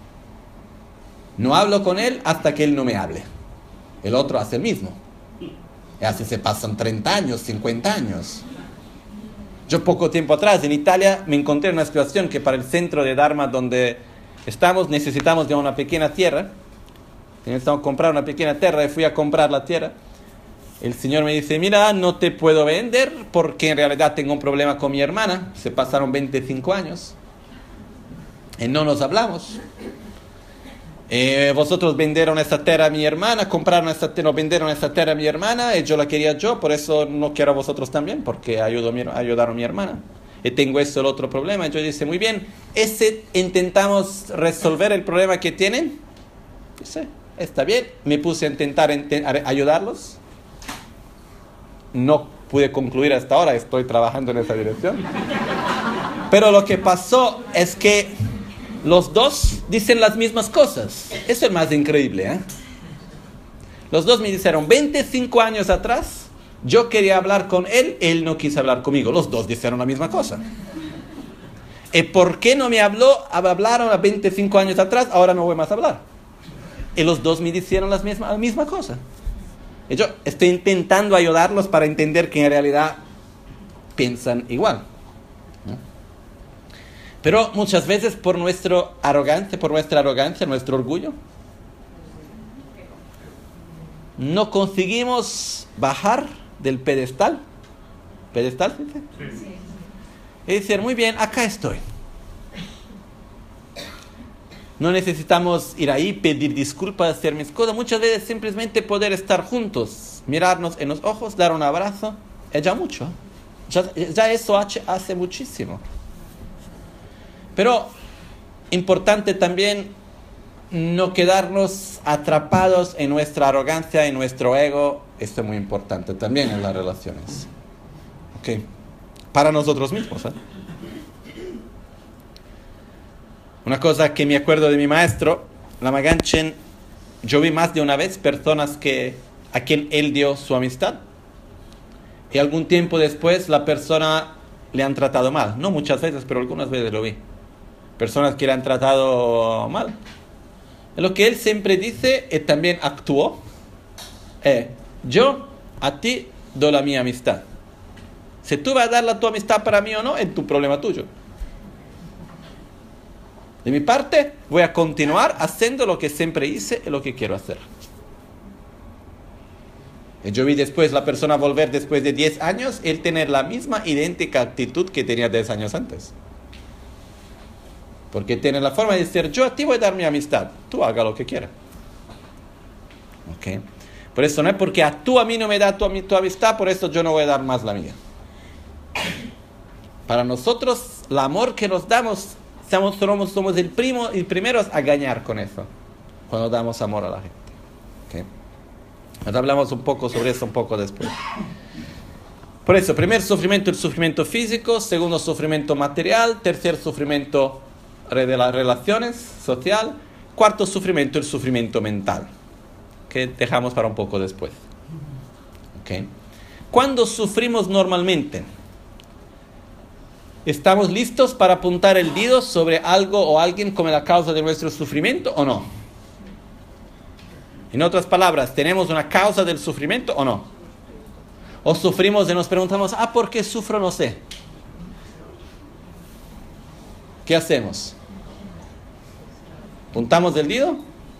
[SPEAKER 1] No hablo con él hasta que él no me hable. El otro hace el mismo. Y así se pasan treinta años, cincuenta años. Yo poco tiempo atrás en Italia me encontré en una situación que para el centro de Dharma donde estamos necesitamos de una pequeña tierra. Necesitamos comprar una pequeña tierra y fui a comprar la tierra. El señor me dice, mira, no te puedo vender porque en realidad tengo un problema con mi hermana. Se pasaron veinticinco años y no nos hablamos. Eh, vosotros vendieron esta tierra a mi hermana, compraron esta tierra, vendieron esta tierra a mi hermana y yo la quería yo, por eso no quiero a vosotros también, porque ayudo, ayudaron a mi hermana. Y tengo eso el otro problema. Y yo dice, muy bien, ese intentamos resolver el problema que tienen. Dice, está bien, me puse a intentar ent- ayudarlos. No pude concluir hasta ahora, estoy trabajando en esa dirección. Pero lo que pasó es que los dos dicen las mismas cosas. Eso es más increíble, ¿eh? Los dos me dijeron, veinticinco años atrás, yo quería hablar con él, él no quiso hablar conmigo. Los dos dijeron la misma cosa. ¿Y por qué no me habló? Hablaron a veinticinco años atrás, ahora no voy más a hablar. Y los dos me dijeron las mismas, la misma cosa. Y yo estoy intentando ayudarlos para entender que en realidad piensan igual. ¿No? Pero muchas veces por nuestra arrogancia, por nuestra arrogancia, nuestro orgullo, no conseguimos bajar del pedestal. ¿Pedestal? ¿Sí? Sí. Y decir, muy bien, acá estoy. No necesitamos ir ahí, pedir disculpas, hacer mis cosas. Muchas veces simplemente poder estar juntos, mirarnos en los ojos, dar un abrazo, es ya mucho. Ya, ya eso hace, hace muchísimo. Pero importante también no quedarnos atrapados en nuestra arrogancia, en nuestro ego. Esto es muy importante también en las relaciones. ¿Ok? Para nosotros mismos, ¿eh? Una cosa que me acuerdo de mi maestro, Lama Ganchen, yo vi más de una vez personas que, a quien él dio su amistad. Y algún tiempo después la persona le han tratado mal. No muchas veces, pero algunas veces lo vi. Personas que le han tratado mal. Lo que él siempre dice y también actuó, eh, yo a ti doy la mi amistad. Si tú vas a dar la tu amistad para mí o no, es tu problema tuyo. De mi parte, voy a continuar haciendo lo que siempre hice y lo que quiero hacer. Y yo vi después la persona volver después de diez años, él tener la misma idéntica actitud que tenía diez años antes. Porque tiene la forma de decir, yo a ti voy a dar mi amistad, tú haga lo que quieras. ¿Ok? Por eso no es porque a tú a mí no me da tu, tu amistad, por eso yo no voy a dar más la mía. Para nosotros, el amor que nos damos, somos, somos, somos el, primo, el primero a ganar con eso, cuando damos amor a la gente. ¿Okay? Nos hablamos un poco sobre eso un poco después. Por eso, primer sufrimiento, el sufrimiento físico. Segundo, sufrimiento material. Tercer, sufrimiento de las relaciones, social. Cuarto, sufrimiento, el sufrimiento mental, que dejamos para un poco después. ¿Okay? ¿Cuándo sufrimos normalmente? ¿Estamos listos para apuntar el dedo sobre algo o alguien como la causa de nuestro sufrimiento o no? En otras palabras, ¿tenemos una causa del sufrimiento o no? O sufrimos y nos preguntamos, ah, ¿por qué sufro? No sé. ¿Qué hacemos? ¿Apuntamos el dedo?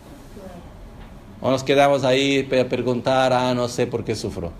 [SPEAKER 1] ¿O nos quedamos ahí para preguntar, ah, no sé por qué sufro?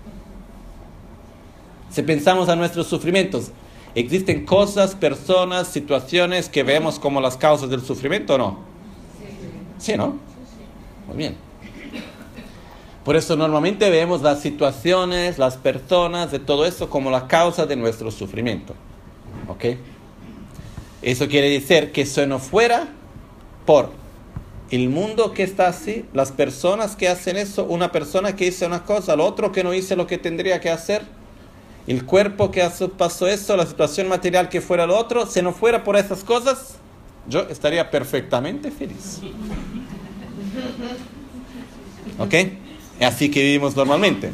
[SPEAKER 1] Si pensamos a nuestros sufrimientos, ¿existen cosas, personas, situaciones que vemos como las causas del sufrimiento o no? Sí, ¿no? Muy bien. Por eso normalmente vemos las situaciones, las personas, de todo eso como la causa de nuestro sufrimiento. ¿Ok? Eso quiere decir que si no fuera por el mundo que está así, las personas que hacen eso, una persona que hizo una cosa, el otro que no hizo lo que tendría que hacer, el cuerpo que pasó eso, la situación material que fuera lo otro, si no fuera por esas cosas, yo estaría perfectamente feliz. ¿Ok? Es así que vivimos normalmente.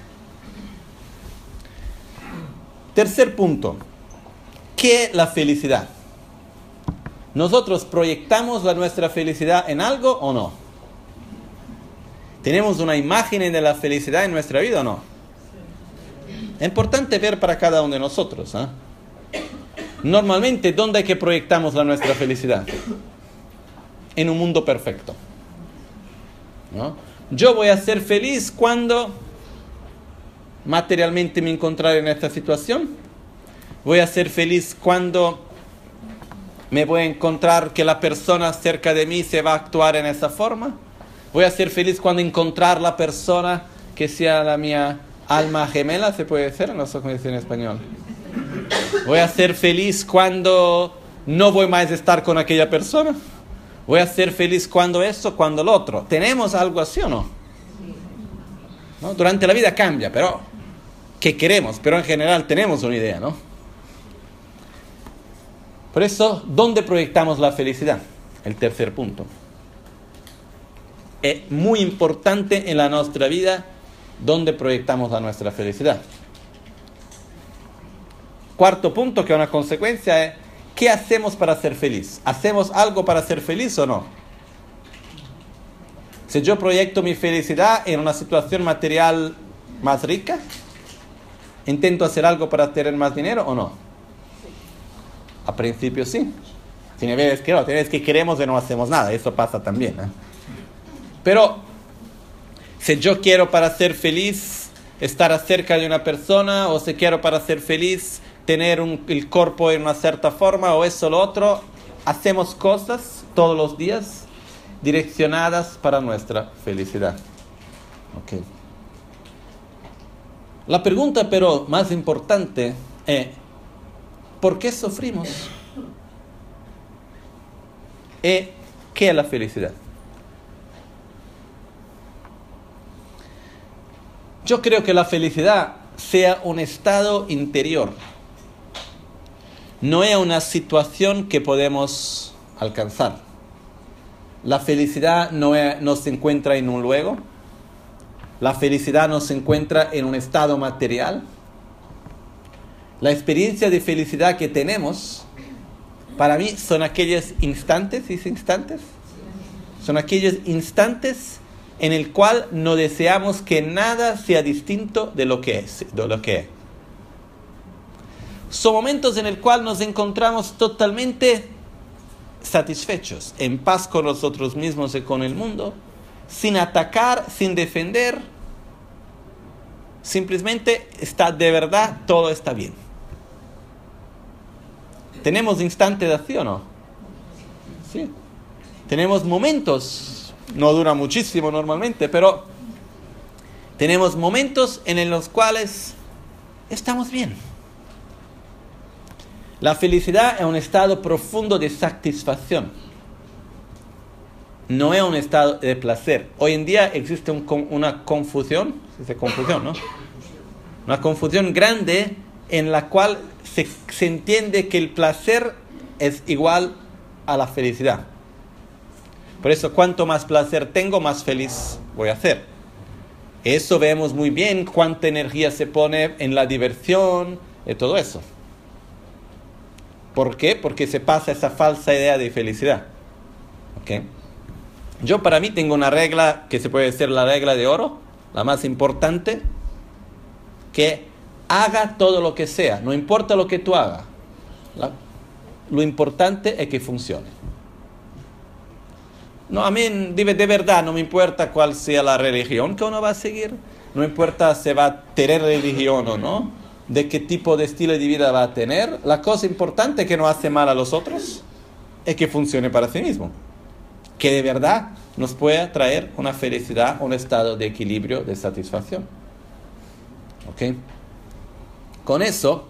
[SPEAKER 1] Tercer punto. ¿Qué es la felicidad? ¿Nosotros proyectamos la nuestra felicidad en algo o no? ¿Tenemos una imagen de la felicidad en nuestra vida o no? Es importante ver para cada uno de nosotros. ¿eh? Normalmente, ¿dónde es que proyectamos la nuestra felicidad? En un mundo perfecto. ¿No? Yo voy a ser feliz cuando materialmente me encontraré en esta situación. Voy a ser feliz cuando me voy a encontrar que la persona cerca de mí se va a actuar en esa forma. Voy a ser feliz cuando encontrar la persona que sea la mía alma gemela, se puede decir, no sé cómo decir en español. Voy a ser feliz cuando no voy más a estar con aquella persona. Voy a ser feliz cuando eso, cuando lo otro. ¿Tenemos algo así o no? ¿No? Durante la vida cambia, pero ¿qué queremos? Pero en general tenemos una idea, ¿no? Por eso, ¿dónde proyectamos la felicidad? El tercer punto. Es muy importante en la nuestra vida dónde proyectamos la nuestra felicidad. Cuarto punto, que es una consecuencia, es ¿qué hacemos para ser feliz? ¿Hacemos algo para ser feliz o no? Si yo proyecto mi felicidad en una situación material más rica, ¿intento hacer algo para tener más dinero o no? A principio sí. Tiene veces que no, tiene veces que queremos y no hacemos nada, eso pasa también, ¿eh? Pero si yo quiero para ser feliz estar cerca de una persona, o si quiero para ser feliz tener un, el cuerpo en una cierta forma, o eso o lo otro, hacemos cosas todos los días direccionadas para nuestra felicidad. Okay. La pregunta, pero más importante, es ¿por qué sufrimos? ¿Y qué es la felicidad? Yo creo que la felicidad sea un estado interior. No es una situación que podemos alcanzar. La felicidad no, es, no se encuentra en un luego. La felicidad no se encuentra en un estado material. La experiencia de felicidad que tenemos, para mí, son aquellos instantes, ¿dice instantes? Son aquellos instantes en el cual no deseamos que nada sea distinto de lo que es, de lo que es. Son momentos en el cual nos encontramos totalmente satisfechos, en paz con nosotros mismos y con el mundo, sin atacar, sin defender. Simplemente está de verdad, todo está bien. ¿Tenemos instantes de acción o no? Sí. Tenemos momentos, no dura muchísimo normalmente, pero tenemos momentos en los cuales estamos bien. La felicidad es un estado profundo de satisfacción. No es un estado de placer. Hoy en día existe un, una confusión, ¿sí? confusión, ¿no? Una confusión grande en la cual se, se entiende que el placer es igual a la felicidad. Por eso, cuanto más placer tengo, más feliz voy a ser. Eso vemos muy bien, cuánta energía se pone en la diversión y todo eso. ¿Por qué? Porque se pasa esa falsa idea de felicidad. ¿Okay? Yo para mí tengo una regla que se puede decir la regla de oro, la más importante, que haga todo lo que sea, no importa lo que tú hagas. La, lo importante es que funcione. No, a mí de, de verdad no me importa cuál sea la religión que uno va a seguir, no importa si va a tener religión o no, de qué tipo de estilo de vida va a tener. La cosa importante que no hace mal a los otros es que funcione para sí mismo, que de verdad nos pueda traer una felicidad, un estado de equilibrio, de satisfacción. ¿Ok? Con eso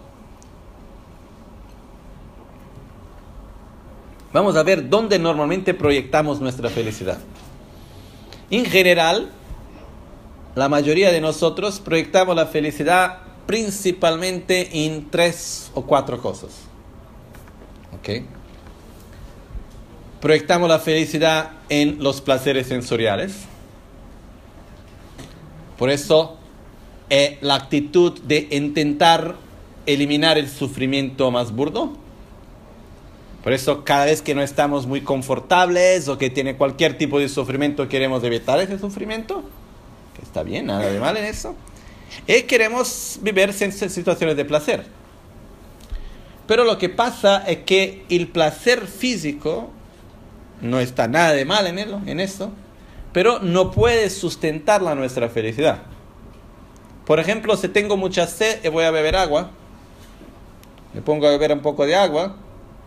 [SPEAKER 1] vamos a ver dónde normalmente proyectamos nuestra felicidad. En general, la mayoría de nosotros proyectamos la felicidad principalmente en tres o cuatro cosas. ¿Ok? Proyectamos la felicidad en los placeres sensoriales. Por eso es la actitud de intentar eliminar el sufrimiento más burdo. Por eso cada vez que no estamos muy confortables o que tiene cualquier tipo de sufrimiento, queremos evitar ese sufrimiento. Que está bien, nada de mal en eso. Y queremos vivir en situaciones de placer. Pero lo que pasa es que el placer físico no está nada de mal en, él, en eso, pero no puede sustentar la nuestra felicidad. Por ejemplo, si tengo mucha sed y voy a beber agua, me pongo a beber un poco de agua.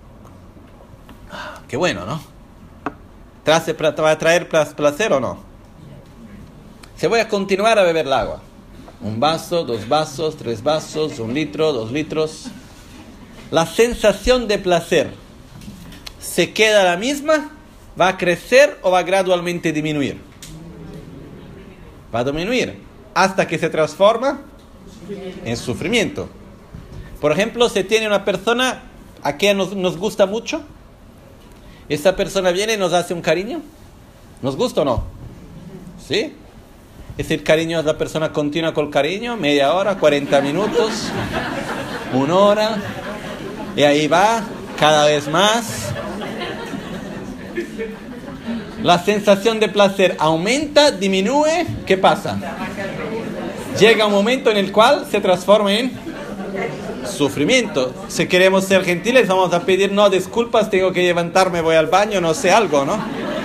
[SPEAKER 1] Qué bueno, ¿no? ¿Te va a traer placer o no? Si voy a continuar a beber el agua, un vaso, dos vasos, tres vasos, un litro, dos litros, la sensación de placer se queda la misma, va a crecer o va a gradualmente disminuir. Va a disminuir hasta que se transforma en sufrimiento. Por ejemplo, si tiene una persona a quien nos, nos gusta mucho, esa persona viene y nos hace un cariño, ¿nos gusta o no? ¿Sí? Es el cariño, la persona continúa con el cariño, media hora, cuarenta minutos, una hora, y ahí va, cada vez más. La sensación de placer aumenta, disminuye, ¿qué pasa? Llega un momento en el cual se transforma en sufrimiento. Si queremos ser gentiles, vamos a pedir, no, disculpas, tengo que levantarme, voy al baño, no sé, algo, ¿no?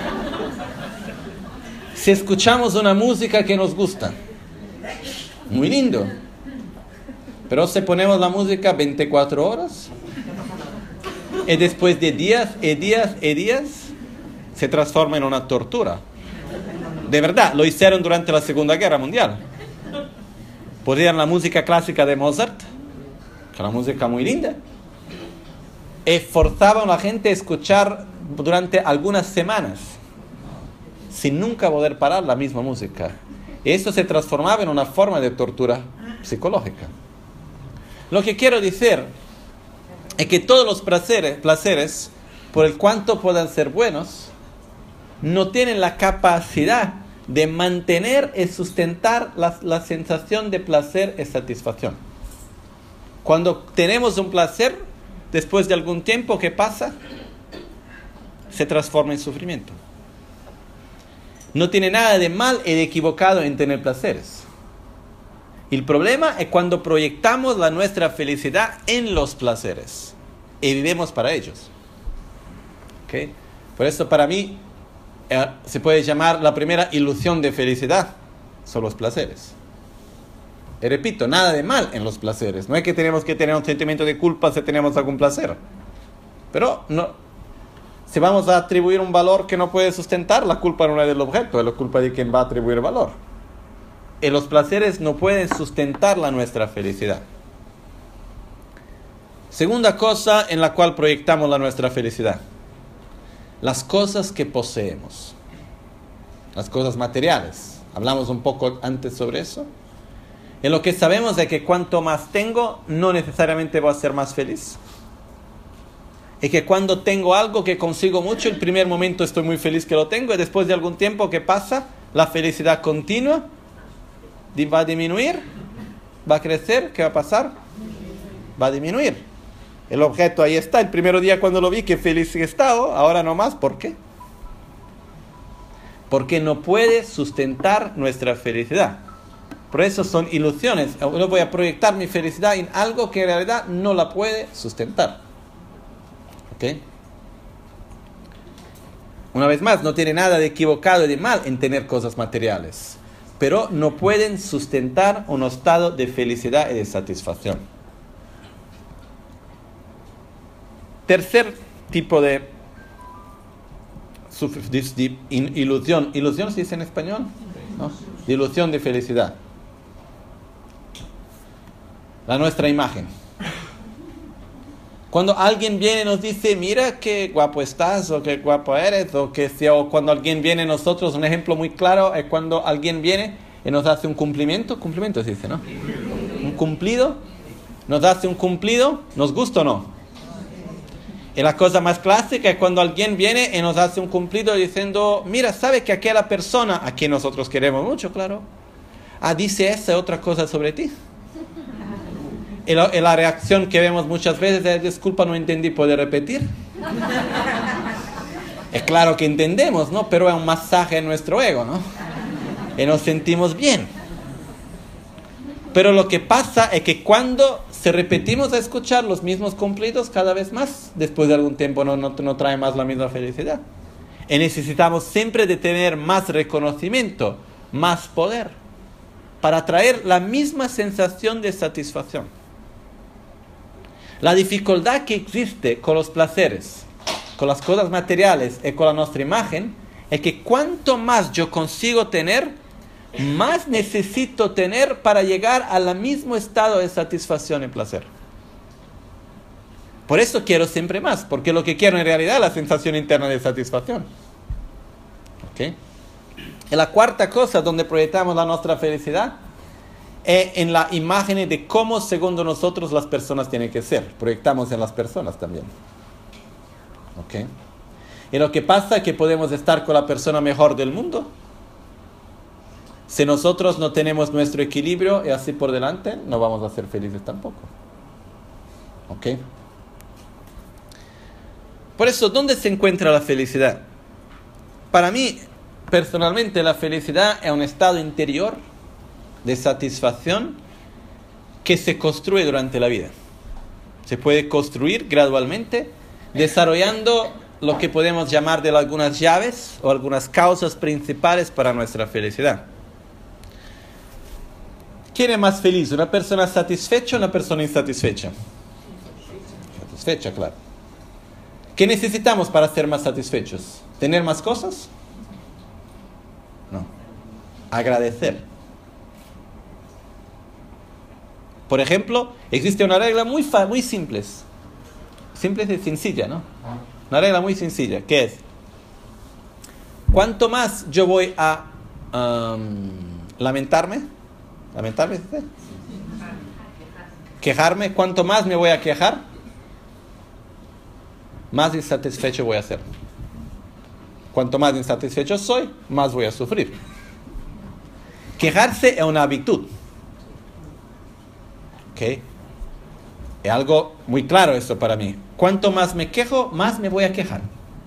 [SPEAKER 1] Si escuchamos una música que nos gusta, muy lindo, pero si ponemos la música veinticuatro horas, y después de días y días y días, se transforma en una tortura. De verdad, lo hicieron durante la Segunda Guerra Mundial. Ponían la música clásica de Mozart, que era una música muy linda, y forzaban a la gente a escuchar durante algunas semanas, sin nunca poder parar la misma música. Y eso se transformaba en una forma de tortura psicológica. Lo que quiero decir es que todos los placeres, placeres, por el cuanto puedan ser buenos, no tienen la capacidad de mantener y sustentar la, la sensación de placer y satisfacción. Cuando tenemos un placer, después de algún tiempo, ¿qué pasa? Se transforma en sufrimiento. No tiene nada de mal y de equivocado en tener placeres. El problema es cuando proyectamos la nuestra felicidad en los placeres y vivimos para ellos. ¿Okay? Por eso para mí eh, se puede llamar la primera ilusión de felicidad son los placeres. Y repito, nada de mal en los placeres. No es que tenemos que tener un sentimiento de culpa si tenemos algún placer. Pero no, si vamos a atribuir un valor que no puede sustentar, la culpa no es del objeto, es la culpa de quien va a atribuir valor. Y los placeres no pueden sustentar la nuestra felicidad. Segunda cosa en la cual proyectamos la nuestra felicidad. Las cosas que poseemos. Las cosas materiales. Hablamos un poco antes sobre eso. Y lo que sabemos es que cuanto más tengo, no necesariamente voy a ser más feliz. Y que cuando tengo algo que consigo mucho, el primer momento estoy muy feliz que lo tengo, y después de algún tiempo, ¿qué pasa? La felicidad continua va a disminuir, va a crecer, ¿qué va a pasar? Va a disminuir. El objeto ahí está, el primer día cuando lo vi, qué feliz he estado, ahora no más, ¿por qué? Porque no puede sustentar nuestra felicidad. Por eso son ilusiones. Yo voy a proyectar mi felicidad en algo que en realidad no la puede sustentar. ¿Ok? Una vez más, no tiene nada de equivocado y de mal en tener cosas materiales, pero no pueden sustentar un estado de felicidad y de satisfacción. Tercer tipo de, de ilusión. ¿Ilusión se dice en español? ¿No? Ilusión de felicidad. La nuestra imagen. Cuando alguien viene y nos dice, mira qué guapo estás, o qué guapo eres, o que sea, o cuando alguien viene a nosotros, un ejemplo muy claro es cuando alguien viene y nos hace un cumplimiento, cumplimiento se dice, ¿no? Un cumplido, nos hace un cumplido, ¿nos gusta o no? Y la cosa más clásica es cuando alguien viene y nos hace un cumplido diciendo, mira, ¿sabe que aquella persona, a quien nosotros queremos mucho, claro, ah, dice esa otra cosa sobre ti? Y la, y la reacción que vemos muchas veces es, disculpa, no entendí, ¿puede repetir? Es claro que entendemos, ¿no? Pero es un masaje en nuestro ego, ¿no? Y nos sentimos bien. Pero lo que pasa es que cuando se repetimos a escuchar los mismos cumplidos cada vez más, después de algún tiempo no, no, no trae más la misma felicidad. Y necesitamos siempre de tener más reconocimiento, más poder, para traer la misma sensación de satisfacción. La dificultad que existe con los placeres, con las cosas materiales y con la nuestra imagen, es que cuanto más yo consigo tener, más necesito tener para llegar al mismo estado de satisfacción y placer. Por eso quiero siempre más, porque lo que quiero en realidad es la sensación interna de satisfacción. ¿Okay? Y la cuarta cosa donde proyectamos la nuestra felicidad es en la imagen de cómo, según nosotros, las personas tienen que ser. Proyectamos en las personas también. ¿Okay? Y lo que pasa es que podemos estar con la persona mejor del mundo. Si nosotros no tenemos nuestro equilibrio y así por delante, no vamos a ser felices tampoco. ¿Ok? Por eso, ¿dónde se encuentra la felicidad? para mí, personalmente, la felicidad es un estado interior de satisfacción que se construye durante la vida. Se puede construir gradualmente, desarrollando lo que podemos llamar de algunas llaves o algunas causas principales para nuestra felicidad. ¿Quién es más feliz? ¿Una persona satisfecha o una persona insatisfecha? Satisfecha, claro. ¿Qué necesitamos para ser más satisfechos? ¿Tener más cosas? No. Agradecer. Por ejemplo, existe una regla muy, fa- muy simple. Simple y sencilla, ¿no? Una regla muy sencilla, que es: cuanto más yo voy a um, lamentarme, lamentarme, ¿sí? Quejarme, cuanto más me voy a quejar, más insatisfecho voy a ser. Cuanto más insatisfecho soy, más voy a sufrir. Quejarse es una virtud. ¿Ok? Es algo muy claro esto para mí. Cuanto más me quejo, más me voy a quejar.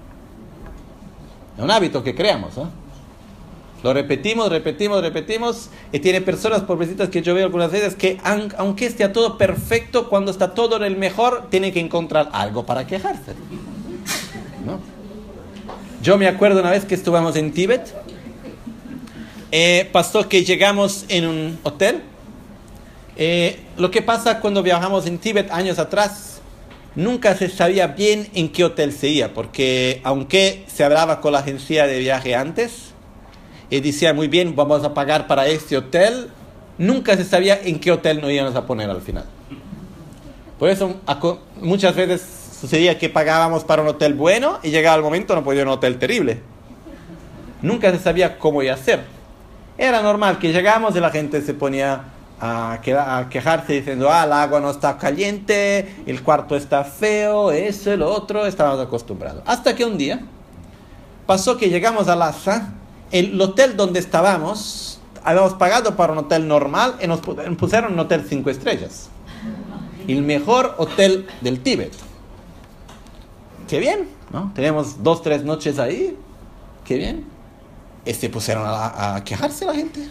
[SPEAKER 1] Es un hábito que creamos, ¿eh? Lo repetimos, repetimos, repetimos. Y tiene personas, pobrecitas, que yo veo algunas veces que, aunque esté todo perfecto, cuando está todo en el mejor, tiene que encontrar algo para quejarse, ¿no? Yo me acuerdo una vez que estuvimos en Tíbet. Eh, pasó que llegamos en un hotel. Eh, lo que pasa cuando viajamos en Tíbet años atrás, nunca se sabía bien en qué hotel se iba, porque aunque se hablaba con la agencia de viaje antes y decía muy bien, vamos a pagar para este hotel, nunca se sabía en qué hotel nos íbamos a poner al final. Por eso muchas veces sucedía que pagábamos para un hotel bueno y llegaba el momento no podía ir a un hotel terrible. Nunca se sabía cómo iba a ser. Era normal que llegamos y la gente se ponía A, que, a quejarse diciendo: ah, el agua no está caliente, el cuarto está feo, eso y lo otro. Estábamos acostumbrados. Hasta que un día pasó que llegamos a Lhasa, el hotel donde estábamos, habíamos pagado para un hotel normal y nos pusieron un hotel cinco estrellas. El mejor hotel del Tíbet. Qué bien, ¿no? Tenemos dos, tres noches ahí. Qué bien. Y se pusieron a, a quejarse la gente.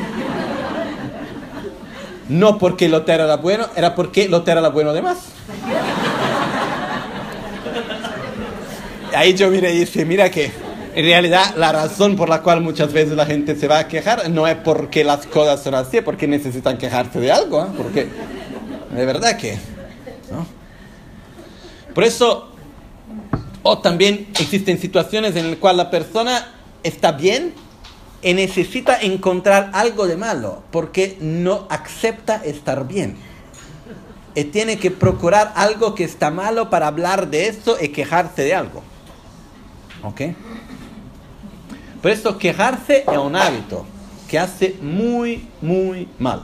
[SPEAKER 1] No porque el hotel era bueno, era porque el hotel era bueno de más. Ahí yo miré y dije, mira que en realidad la razón por la cual muchas veces la gente se va a quejar no es porque las cosas son así, es porque necesitan quejarse de algo, ¿eh? Porque de verdad que, ¿no? Por eso, o también existen situaciones en las cuales la persona está bien y necesita encontrar algo de malo, porque no acepta estar bien. Y tiene que procurar algo que está malo para hablar de eso y quejarse de algo. ¿Ok? Por eso quejarse es un hábito que hace muy, muy mal.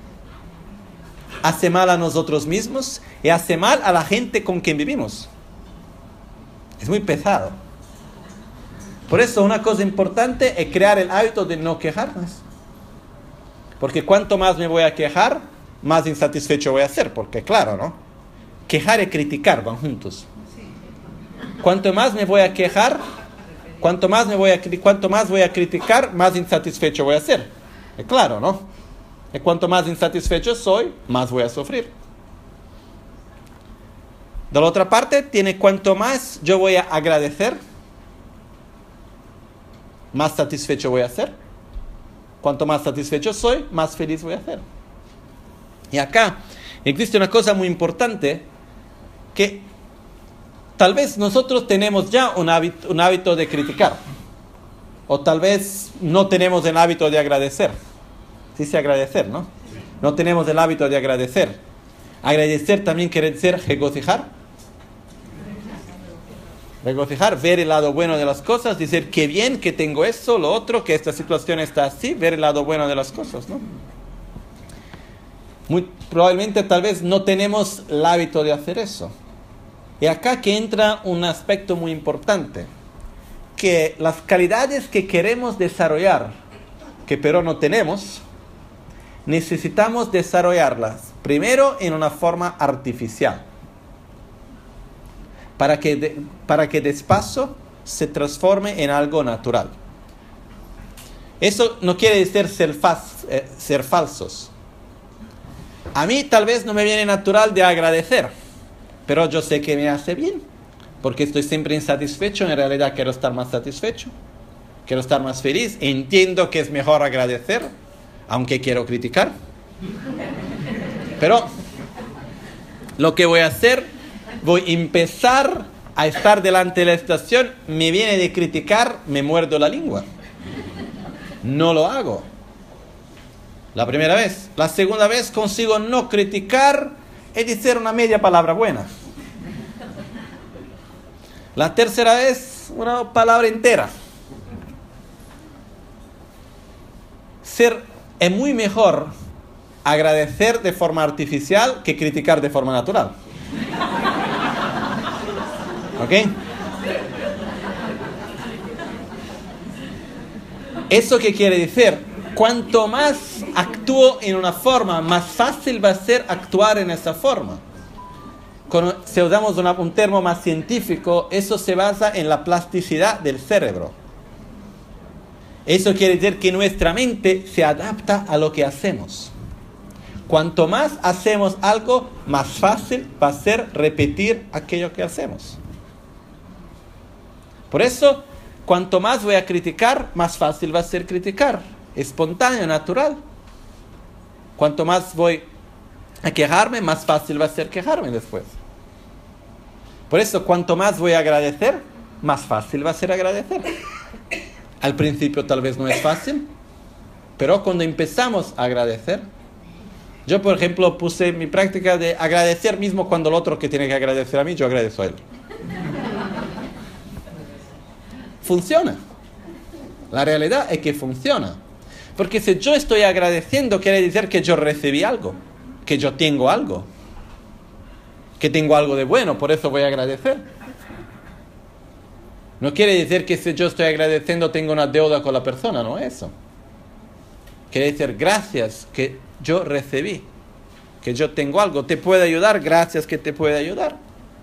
[SPEAKER 1] Hace mal a nosotros mismos y hace mal a la gente con quien vivimos. Es muy pesado. Por eso una cosa importante es crear el hábito de no quejarnos. Porque cuanto más me voy a quejar, más insatisfecho voy a ser. Porque claro, ¿no? Quejar y criticar van juntos. Cuanto más me voy a quejar, cuanto más me voy a, cuanto más voy a criticar, más insatisfecho voy a ser. Es claro, ¿no? Y cuanto más insatisfecho soy, más voy a sufrir. De la otra parte, tiene cuanto más yo voy a agradecer, más satisfecho voy a ser. Cuanto más satisfecho soy, más feliz voy a ser. Y acá existe una cosa muy importante, que tal vez nosotros tenemos ya un hábito, un hábito de criticar, o tal vez no tenemos el hábito de agradecer. Sí, sí, agradecer, ¿no? No tenemos el hábito de agradecer. Agradecer también quiere decir regocijar. Regocijar, ver el lado bueno de las cosas, decir qué bien que tengo esto, lo otro, que esta situación está así, ver el lado bueno de las cosas, ¿no? Muy probablemente tal vez no tenemos el hábito de hacer eso. Y acá que entra un aspecto muy importante, que las calidades que queremos desarrollar, que pero no tenemos, necesitamos desarrollarlas primero en una forma artificial. Para que, de, para que despacio se transforme en algo natural. Eso no quiere decir ser, fas, eh, ser falsos. A mí tal vez no me viene natural de agradecer, pero yo sé que me hace bien, porque estoy siempre insatisfecho. En realidad quiero estar más satisfecho, quiero estar más feliz. Entiendo que es mejor agradecer, aunque quiero criticar. Pero lo que voy a hacer, voy a empezar a estar delante de la situación, me viene de criticar, me muerdo la lengua. No lo hago. La primera vez. La segunda vez consigo no criticar y decir una media palabra buena. La tercera vez, una palabra entera. Ser, es muy mejor agradecer de forma artificial que criticar de forma natural. ¿Ok? ¿Eso qué quiere decir? Cuanto más actúo en una forma, más fácil va a ser actuar en esa forma. Cuando, si usamos una, un término más científico, eso se basa en la plasticidad del cerebro. Eso quiere decir que nuestra mente se adapta a lo que hacemos. Cuanto más hacemos algo, más fácil va a ser repetir aquello que hacemos. Por eso, cuanto más voy a criticar, más fácil va a ser criticar. Espontáneo, natural. Cuanto más voy a quejarme, más fácil va a ser quejarme después. Por eso, cuanto más voy a agradecer, más fácil va a ser agradecer. Al principio tal vez no es fácil, pero cuando empezamos a agradecer, yo por ejemplo puse mi práctica de agradecer mismo cuando el otro que tiene que agradecer a mí, yo agradezco a él. Funciona. La realidad es que funciona. Porque si yo estoy agradeciendo, quiere decir que yo recibí algo, que yo tengo algo, que tengo algo de bueno, por eso voy a agradecer. No quiere decir que si yo estoy agradeciendo tengo una deuda con la persona, no es eso. Quiere decir gracias que yo recibí, que yo tengo algo, te puede ayudar, gracias que te puede ayudar.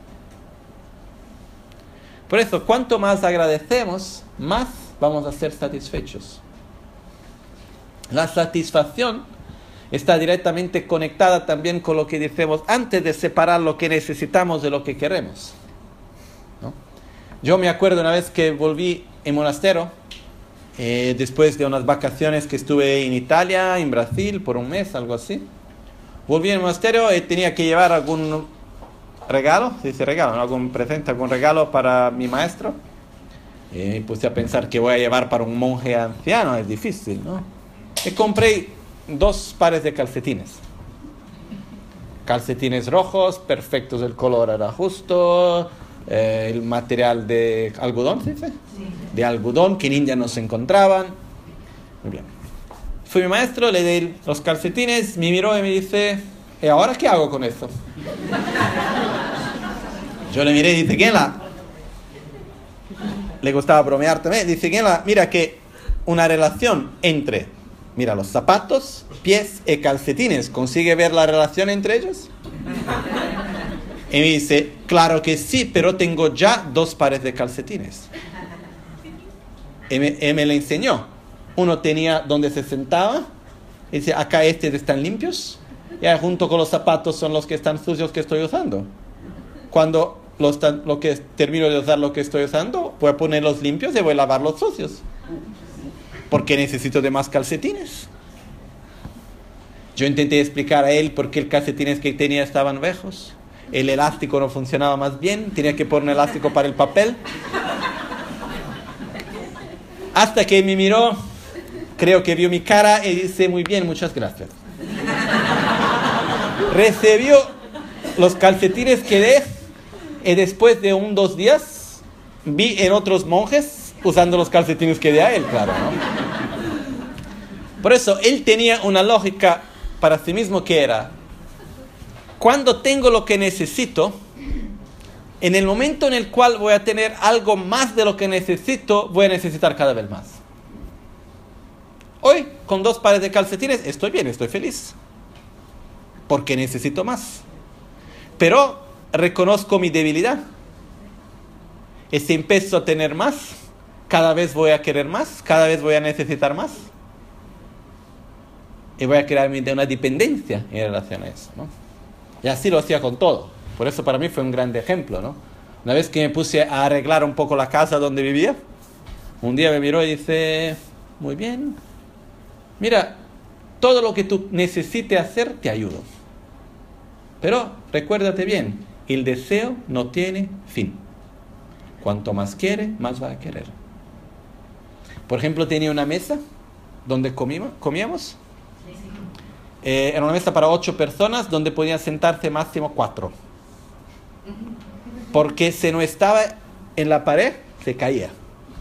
[SPEAKER 1] Por eso, cuanto más agradecemos, más vamos a ser satisfechos. La satisfacción está directamente conectada también con lo que decimos antes de separar lo que necesitamos de lo que queremos, ¿no? Yo me acuerdo una vez que volví en monasterio, eh, después de unas vacaciones que estuve en Italia, en Brasil, por un mes, algo así. Volví en monasterio y tenía que llevar algún regalo, se dice regalo, ¿no? Algún presente, algún regalo para mi maestro. Y me puse a pensar que voy a llevar para un monje anciano, es difícil, ¿no? Y compré dos pares de calcetines. Calcetines rojos, perfectos, el color era justo, eh, el material de algodón, ¿sí? ¿Sí? De algodón que en India no se encontraban. Muy bien. Fui mi maestro, le di los calcetines, me miró y me dice, ¿y ahora qué hago con esto? Yo le miré y dice, ¿quién la? Le gustaba bromear también. Dice, ¿quién la? Mira que una relación entre, mira, los zapatos, pies y calcetines, ¿consigue ver la relación entre ellos? Y me dice, claro que sí, pero tengo ya dos pares de calcetines. Y me, y me le enseñó. Uno tenía donde se sentaba, y dice, acá estos están limpios, y ahí junto con los zapatos son los que están sucios que estoy usando. Cuando los, lo que termino de usar lo que estoy usando, voy a ponerlos limpios y voy a lavar los sucios. Porque necesito de más calcetines. Yo intenté explicar a él por qué los calcetines que tenía estaban viejos. El elástico no funcionaba más bien, tenía que poner un elástico para el papel. Hasta que me miró, creo que vio mi cara y dice, muy bien, muchas gracias. Recibió los calcetines que dé y después de un dos días vi en otros monjes usando los calcetines que dé a él, claro, ¿no? Por eso, él tenía una lógica para sí mismo que era, cuando tengo lo que necesito, en el momento en el cual voy a tener algo más de lo que necesito, voy a necesitar cada vez más. Hoy, con dos pares de calcetines, estoy bien, estoy feliz. Porque necesito más. Pero reconozco mi debilidad. Y si empiezo a tener más, cada vez voy a querer más, cada vez voy a necesitar más. Y voy a crear una dependencia en relación a eso, ¿no? Y así lo hacía con todo. Por eso para mí fue un gran ejemplo, ¿no? Una vez que me puse a arreglar un poco la casa donde vivía, un día me miró y dice, muy bien, mira, todo lo que tú necesites hacer, te ayudo. Pero recuérdate bien, el deseo no tiene fin. Cuanto más quiere, más va a querer. Por ejemplo, tenía una mesa donde comíamos, comíamos. Eh, era una mesa para ocho personas donde podían sentarse máximo cuatro. Porque si no estaba en la pared, se caía.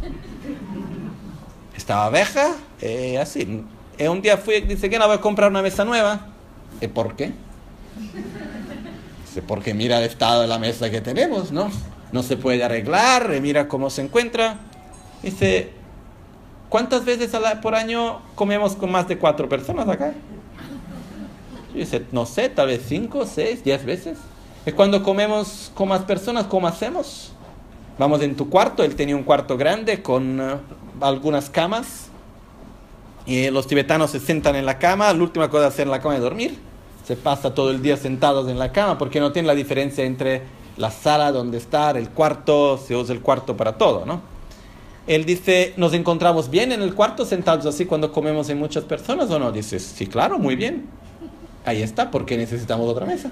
[SPEAKER 1] Estaba vieja, eh, así. Eh, un día fui y dice que no, voy a comprar una mesa nueva. ¿Y por qué? Dice, porque mira el estado de la mesa que tenemos, ¿no? No se puede arreglar, eh, mira cómo se encuentra. Dice, ¿cuántas veces por año comemos con más de cuatro personas acá? Dice, no sé, tal vez cinco, seis, diez veces. Es cuando comemos con más personas, ¿cómo hacemos? Vamos en tu cuarto, él tenía un cuarto grande con uh, algunas camas. Y los tibetanos se sientan en la cama, la última cosa de hacer en la cama es dormir. Se pasa todo el día sentados en la cama porque no tienen la diferencia entre la sala donde estar, el cuarto, se usa el cuarto para todo, ¿no? Él dice, ¿nos encontramos bien en el cuarto sentados así cuando comemos en muchas personas o no? Dice, sí, claro, muy bien. Ahí está, porque necesitamos otra mesa.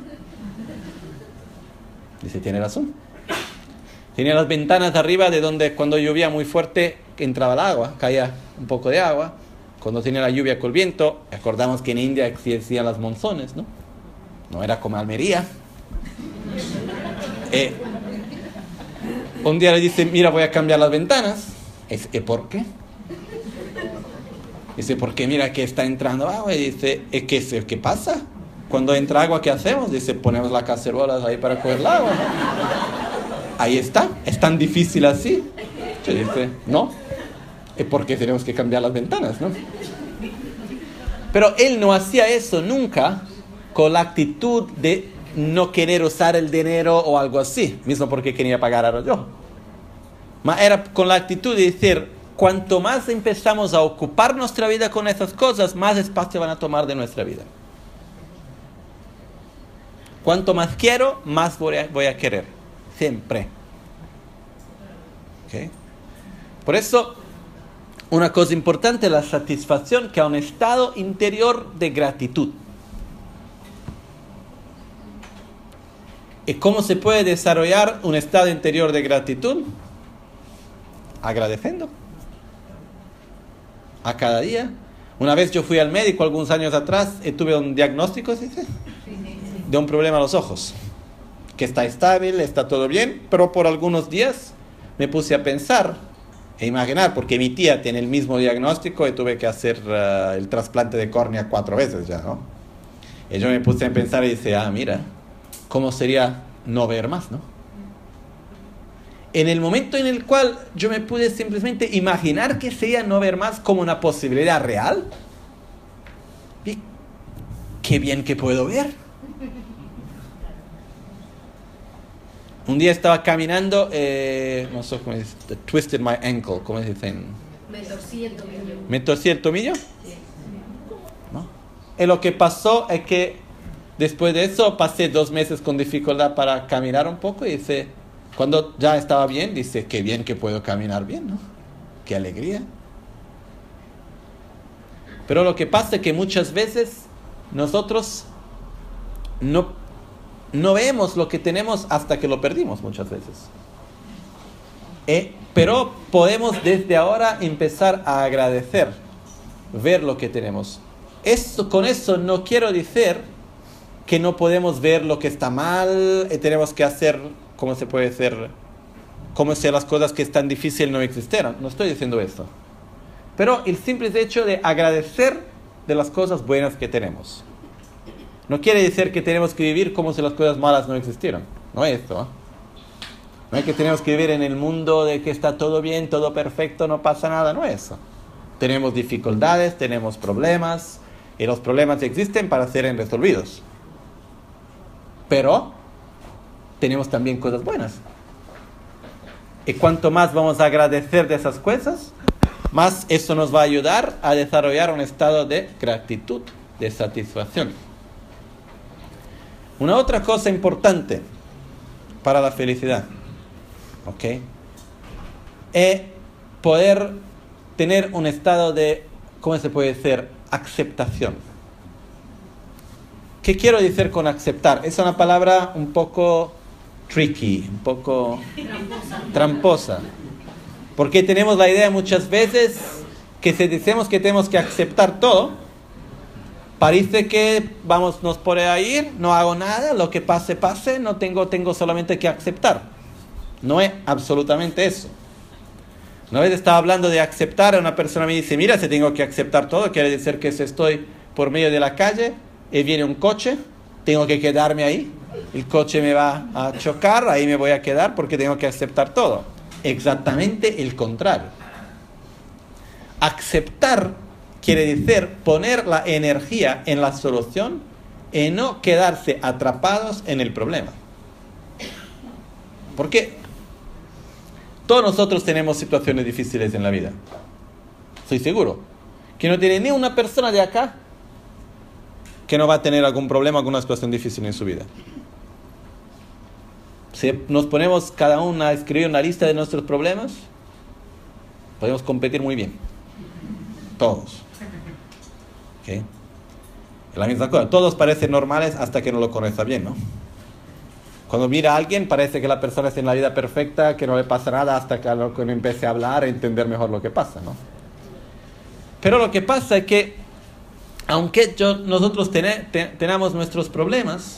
[SPEAKER 1] Dice, tiene razón. Tenía las ventanas de arriba de donde cuando llovía muy fuerte entraba el agua, caía un poco de agua. Cuando tenía la lluvia con el viento, acordamos que en India existían las monzones, ¿no? No era como Almería. Eh, un día le dice, mira, voy a cambiar las ventanas. Es, ¿y por qué? Dice, porque mira que está entrando agua. Y dice, ¿qué, ¿qué pasa? Cuando entra agua, ¿qué hacemos? Dice, ponemos las cacerolas ahí para coger el agua, ¿no? Ahí está, es tan difícil así. Y dice, no, es porque tenemos que cambiar las ventanas, ¿no? Pero él no hacía eso nunca con la actitud de no querer usar el dinero o algo así, mismo porque quería pagar a yo. Mas era con la actitud de decir, cuanto más empezamos a ocupar nuestra vida con esas cosas, más espacio van a tomar de nuestra vida. Cuanto más quiero, más voy a, voy a querer. Siempre. ¿Okay? Por eso, una cosa importante es la satisfacción, que es un estado interior de gratitud. ¿Y cómo se puede desarrollar un estado interior de gratitud? Agradeciendo. A cada día. Una vez yo fui al médico algunos años atrás y tuve un diagnóstico, ¿sí? De un problema a los ojos. Que está estable, está todo bien, pero por algunos días me puse a pensar e imaginar, porque mi tía tiene el mismo diagnóstico y tuve que hacer uh, el trasplante de córnea cuatro veces ya, ¿no? Y yo me puse a pensar y dije, ah, mira, ¿cómo sería no ver más, no? En el momento en el cual yo me pude simplemente imaginar que sería no ver más como una posibilidad real, y qué bien que puedo ver. Un día estaba caminando, eh, no sé cómo se dice, twisted my ankle, ¿cómo se dice?
[SPEAKER 2] Me torcí el tobillo.
[SPEAKER 1] ¿Me torcí el tobillo?
[SPEAKER 2] Sí.
[SPEAKER 1] ¿No? Y lo que pasó es que después de eso pasé dos meses con dificultad para caminar un poco y dice, cuando ya estaba bien, dice, qué bien que puedo caminar bien, ¿no? Qué alegría. Pero lo que pasa es que muchas veces nosotros no No vemos lo que tenemos hasta que lo perdimos muchas veces. Eh, pero podemos desde ahora empezar a agradecer, ver lo que tenemos. Esto, con eso no quiero decir que no podemos ver lo que está mal y tenemos que hacer, ¿cómo se puede hacer? Como si las cosas que están difíciles no existieran. No estoy diciendo eso. Pero el simple hecho de agradecer de las cosas buenas que tenemos. No quiere decir que tenemos que vivir como si las cosas malas no existieran. No es esto, ¿eh? No es que tenemos que vivir en el mundo de que está todo bien, todo perfecto, no pasa nada. No es eso. Tenemos dificultades, tenemos problemas, y los problemas existen para ser resolvidos. Pero tenemos también cosas buenas. Y cuanto más vamos a agradecer de esas cosas, más eso nos va a ayudar a desarrollar un estado de gratitud, de satisfacción. Una otra cosa importante para la felicidad, ¿ok?, es poder tener un estado de, ¿cómo se puede decir?, aceptación. ¿Qué quiero decir con aceptar? Es una palabra un poco tricky, un poco tramposa. tramposa. Porque tenemos la idea muchas veces que si decimos que tenemos que aceptar todo, parece que vamos, nos por ahí, no hago nada, lo que pase, pase, no tengo, tengo solamente que aceptar. No es absolutamente eso. Una vez estaba hablando de aceptar, una persona me dice, mira, si tengo que aceptar todo, quiere decir que si estoy por medio de la calle y viene un coche, tengo que quedarme ahí, el coche me va a chocar, ahí me voy a quedar porque tengo que aceptar todo. Exactamente el contrario. Aceptar quiere decir poner la energía en la solución y no quedarse atrapados en el problema. ¿Por qué? Todos nosotros tenemos situaciones difíciles en la vida. Estoy seguro que no tiene ni una persona de acá que no va a tener algún problema, alguna situación difícil en su vida. Si nos ponemos cada uno a escribir una lista de nuestros problemas, podemos competir muy bien. Todos. ¿Okay? La misma cosa. Todos parecen normales hasta que no lo conoces bien, ¿no? Cuando mira a alguien parece que la persona está en la vida perfecta, que no le pasa nada hasta que uno empiece a hablar e entender mejor lo que pasa, ¿no? Pero lo que pasa es que aunque yo, nosotros ten, ten, tenemos nuestros problemas,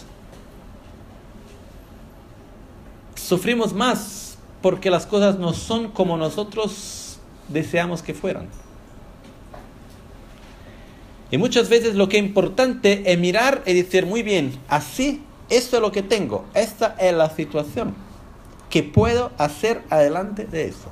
[SPEAKER 1] sufrimos más porque las cosas no son como nosotros deseamos que fueran. Y muchas veces lo que es importante es mirar y decir, muy bien, así, esto es lo que tengo, esta es la situación. ¿Qué puedo hacer adelante de eso?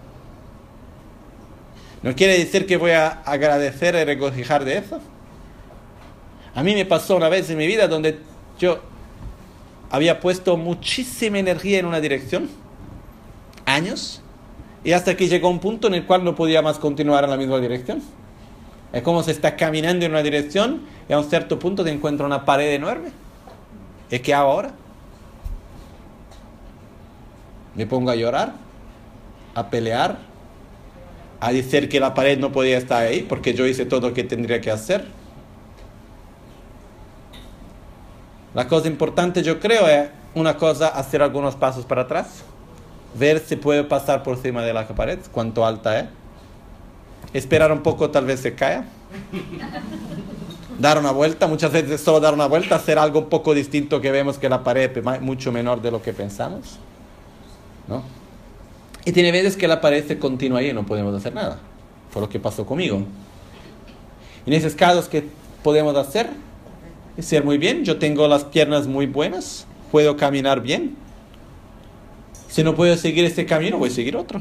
[SPEAKER 1] ¿No quiere decir que voy a agradecer y regocijar de eso? A mí me pasó una vez en mi vida donde yo había puesto muchísima energía en una dirección, años, y hasta que llegó un punto en el cual no podía más continuar en la misma dirección. Es como se está caminando en una dirección y a un cierto punto te encuentra una pared enorme. ¿Y qué hago ahora? Me pongo a llorar, a pelear, a decir que la pared no podía estar ahí porque yo hice todo lo que tendría que hacer. La cosa importante, yo creo, es una cosa, hacer algunos pasos para atrás, ver si puedo pasar por encima de la pared, cuánto alta es, esperar un poco, tal vez se caiga, dar una vuelta, muchas veces solo dar una vuelta, hacer algo un poco distinto que vemos que la pared es mucho menor de lo que pensamos, ¿no? Y tiene veces que la pared se continúa ahí y no podemos hacer nada. Fue lo que pasó conmigo. En esos casos, ¿qué podemos hacer? Es ser muy bien, yo tengo las piernas muy buenas, puedo caminar bien. Si no puedo seguir este camino, voy a seguir otro.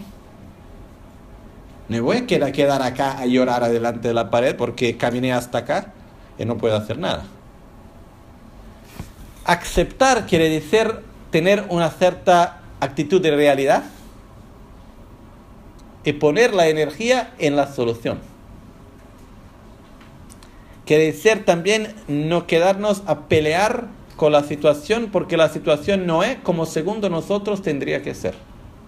[SPEAKER 1] No voy a quedar acá a llorar adelante de la pared porque caminé hasta acá y no puedo hacer nada. Aceptar quiere decir tener una cierta actitud de realidad y poner la energía en la solución. Quiere decir también no quedarnos a pelear con la situación porque la situación no es como según nosotros tendría que ser.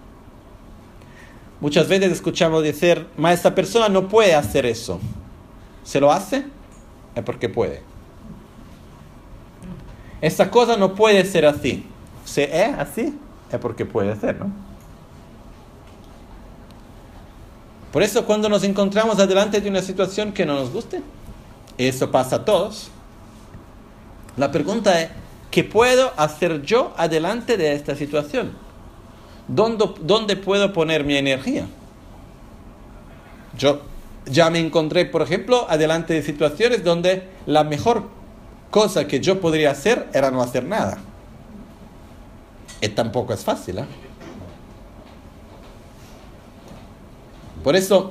[SPEAKER 1] Muchas veces escuchamos decir, ma esta persona no puede hacer eso. ¿Se lo hace? Es porque puede. Esta cosa no puede ser así. Si es así, es porque puede ser, ¿no? Por eso cuando nos encontramos adelante de una situación que no nos guste, eso pasa a todos, la pregunta es, ¿qué puedo hacer yo adelante de esta situación? ¿Dónde, ¿Dónde puedo poner mi energía? Yo ya me encontré, por ejemplo, adelante de situaciones donde la mejor cosa que yo podría hacer era no hacer nada. Y tampoco es fácil, ¿eh? Por eso,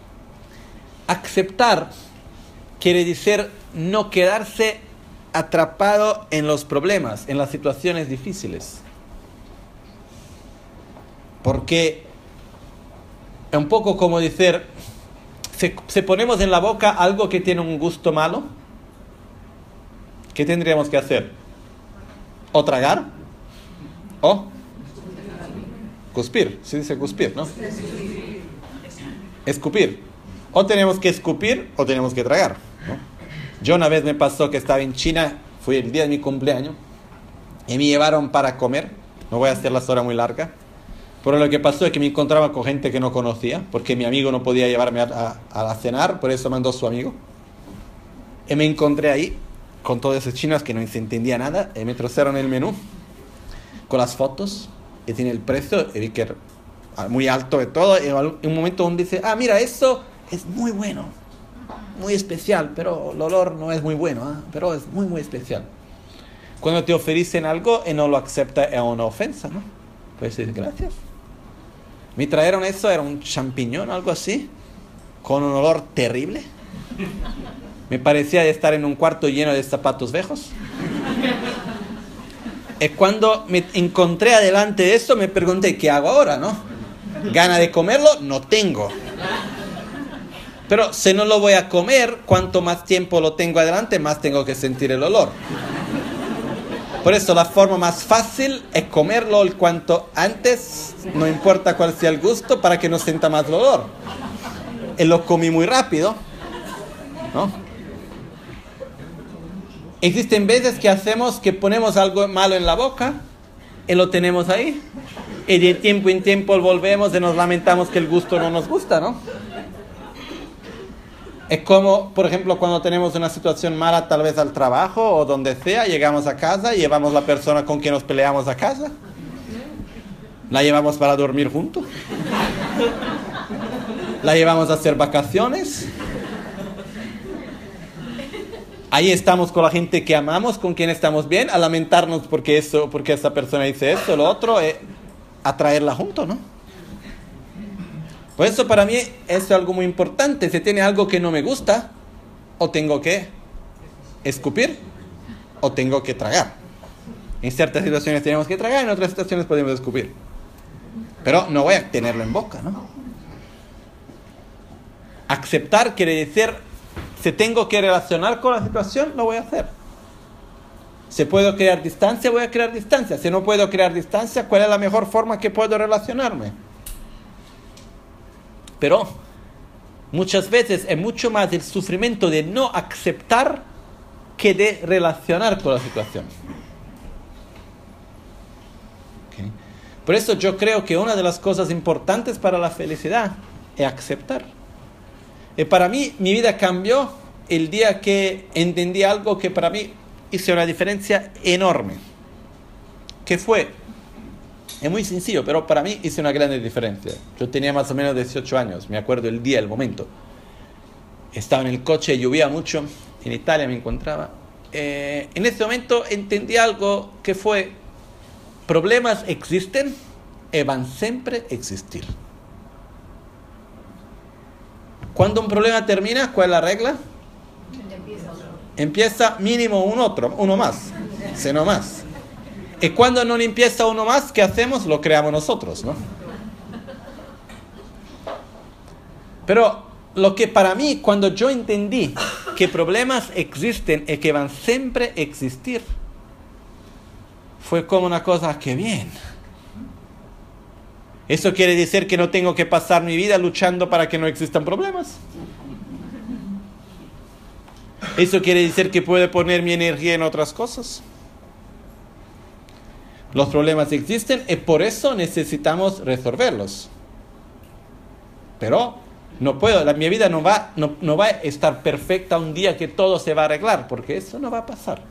[SPEAKER 1] aceptar quiere decir no quedarse atrapado en los problemas, en las situaciones difíciles. Porque es un poco como decir, si, si ponemos en la boca algo que tiene un gusto malo, ¿qué tendríamos que hacer? O tragar, o cuspir, se dice cuspir, ¿no? Escupir. O tenemos que escupir o tenemos que tragar, ¿no? Yo una vez me pasó que estaba en China, fue el día de mi cumpleaños, y me llevaron para comer. No voy a hacer la historia muy larga, pero lo que pasó es que me encontraba con gente que no conocía, porque mi amigo no podía llevarme a, a, a cenar, por eso mandó a su amigo. Y me encontré ahí con todos esos chinos que no se entendía nada, y me trajeron el menú con las fotos, y tiene el precio, y vi que era muy alto de todo, y en un momento uno dice, ah, mira, eso es muy bueno, muy especial, pero el olor no es muy bueno, ¿eh? Pero es muy, muy especial. Cuando te ofrecen algo y no lo acepta, es una ofensa, ¿no? Puedes decir, gracias. Me trajeron eso, era un champiñón, algo así, con un olor terrible. Me parecía de estar en un cuarto lleno de zapatos viejos. Y cuando me encontré adelante de eso, me pregunté, ¿qué hago ahora, no? ¿Gana de comerlo? No tengo. Pero si no lo voy a comer, cuanto más tiempo lo tengo adelante, más tengo que sentir el olor. Por eso la forma más fácil es comerlo el cuanto antes, no importa cuál sea el gusto, para que no sienta más el olor. Y lo comí muy rápido, ¿no? Existen veces que hacemos que ponemos algo malo en la boca y lo tenemos ahí, y de tiempo en tiempo volvemos y nos lamentamos que el gusto no nos gusta, ¿no? Es como, por ejemplo, cuando tenemos una situación mala, tal vez al trabajo o donde sea, llegamos a casa y llevamos la persona con quien nos peleamos a casa. La llevamos para dormir juntos. La llevamos a hacer vacaciones. Ahí estamos con la gente que amamos, con quien estamos bien, a lamentarnos porque eso, porque esa persona dice eso, lo otro, eh, a traerla junto, ¿no? Por eso para mí eso es algo muy importante. Si tiene algo que no me gusta, o tengo que escupir, o tengo que tragar. En ciertas situaciones tenemos que tragar, en otras situaciones podemos escupir. Pero no voy a tenerlo en boca, ¿no? Aceptar quiere decir, si tengo que relacionar con la situación, lo voy a hacer. Si puedo crear distancia, voy a crear distancia. Si no puedo crear distancia, ¿cuál es la mejor forma que puedo relacionarme? Pero muchas veces es mucho más el sufrimiento de no aceptar que de relacionar con la situación. ¿Okay? Por eso yo creo que una de las cosas importantes para la felicidad es aceptar. Y para mí, mi vida cambió el día que entendí algo que para mí hizo una diferencia enorme. ¿Qué fue? Es muy sencillo, pero para mí hizo una gran diferencia. Yo tenía más o menos dieciocho años, me acuerdo el día, el momento. Estaba en el coche, llovía mucho, en Italia me encontraba. Eh, en ese momento entendí algo que fue, problemas existen y van siempre a existir. Cuando un problema termina, ¿cuál es la regla? Empieza mínimo un otro, uno más, si no más. Y cuando no empieza uno más, ¿qué hacemos? Lo creamos nosotros, ¿no? Pero lo que para mí, cuando yo entendí que problemas existen y que van siempre a existir, fue como una cosa, ¡qué bien! ¿Eso quiere decir que no tengo que pasar mi vida luchando para que no existan problemas? ¿Eso quiere decir que puedo poner mi energía en otras cosas? Los problemas existen y por eso necesitamos resolverlos. Pero no puedo, la, mi vida no va, no, no va a estar perfecta un día que todo se va a arreglar, porque eso no va a pasar.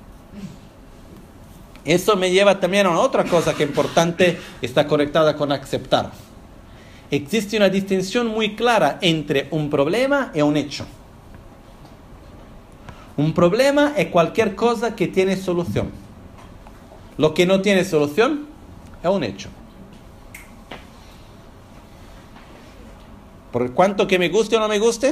[SPEAKER 1] Eso me lleva también a otra cosa que es importante, está conectada con aceptar. Existe una distinción muy clara entre un problema y un hecho. Un problema es cualquier cosa que tiene solución. Lo que no tiene solución es un hecho. Por cuanto que me guste o no me guste,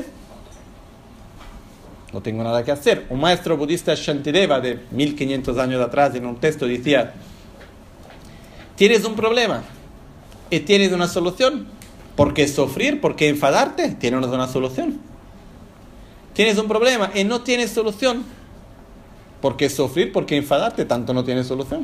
[SPEAKER 1] no tengo nada que hacer. Un maestro budista, Shantideva, de mil quinientos años atrás, en un texto decía, tienes un problema, y tienes una solución. ¿Por qué sufrir? ¿Por qué enfadarte? Tienes una solución. Tienes un problema y no tienes solución. ¿Por qué sufrir? ¿Por qué enfadarte? Tanto no tienes solución.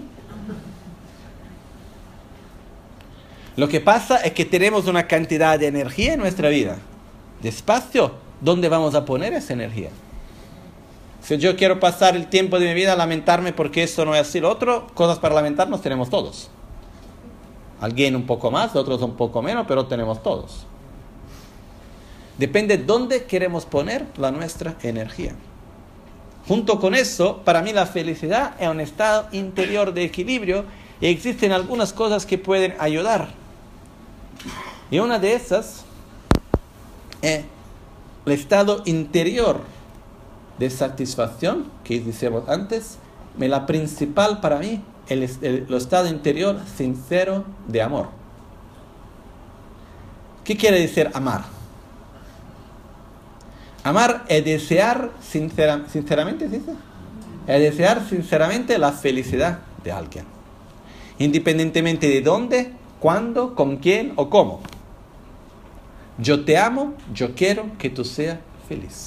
[SPEAKER 1] Lo que pasa es que tenemos una cantidad de energía en nuestra vida, de espacio. ¿Dónde vamos a poner esa energía? Si yo quiero pasar el tiempo de mi vida a lamentarme porque esto no es así, lo otro, cosas para lamentarnos tenemos todos. Alguien un poco más, otros un poco menos, pero tenemos todos. Depende dónde queremos poner la nuestra energía. Junto con eso, para mí la felicidad es un estado interior de equilibrio y existen algunas cosas que pueden ayudar. Y una de esas es el estado interior de satisfacción, que decíamos antes, es la principal para mí. El, el, el estado interior sincero de amor. ¿Qué quiere decir amar? Amar es desear sincera, sinceramente, ¿sí? Es desear sinceramente la felicidad de alguien, independientemente de dónde, cuándo, con quién o cómo. Yo te amo, yo quiero que tú seas feliz.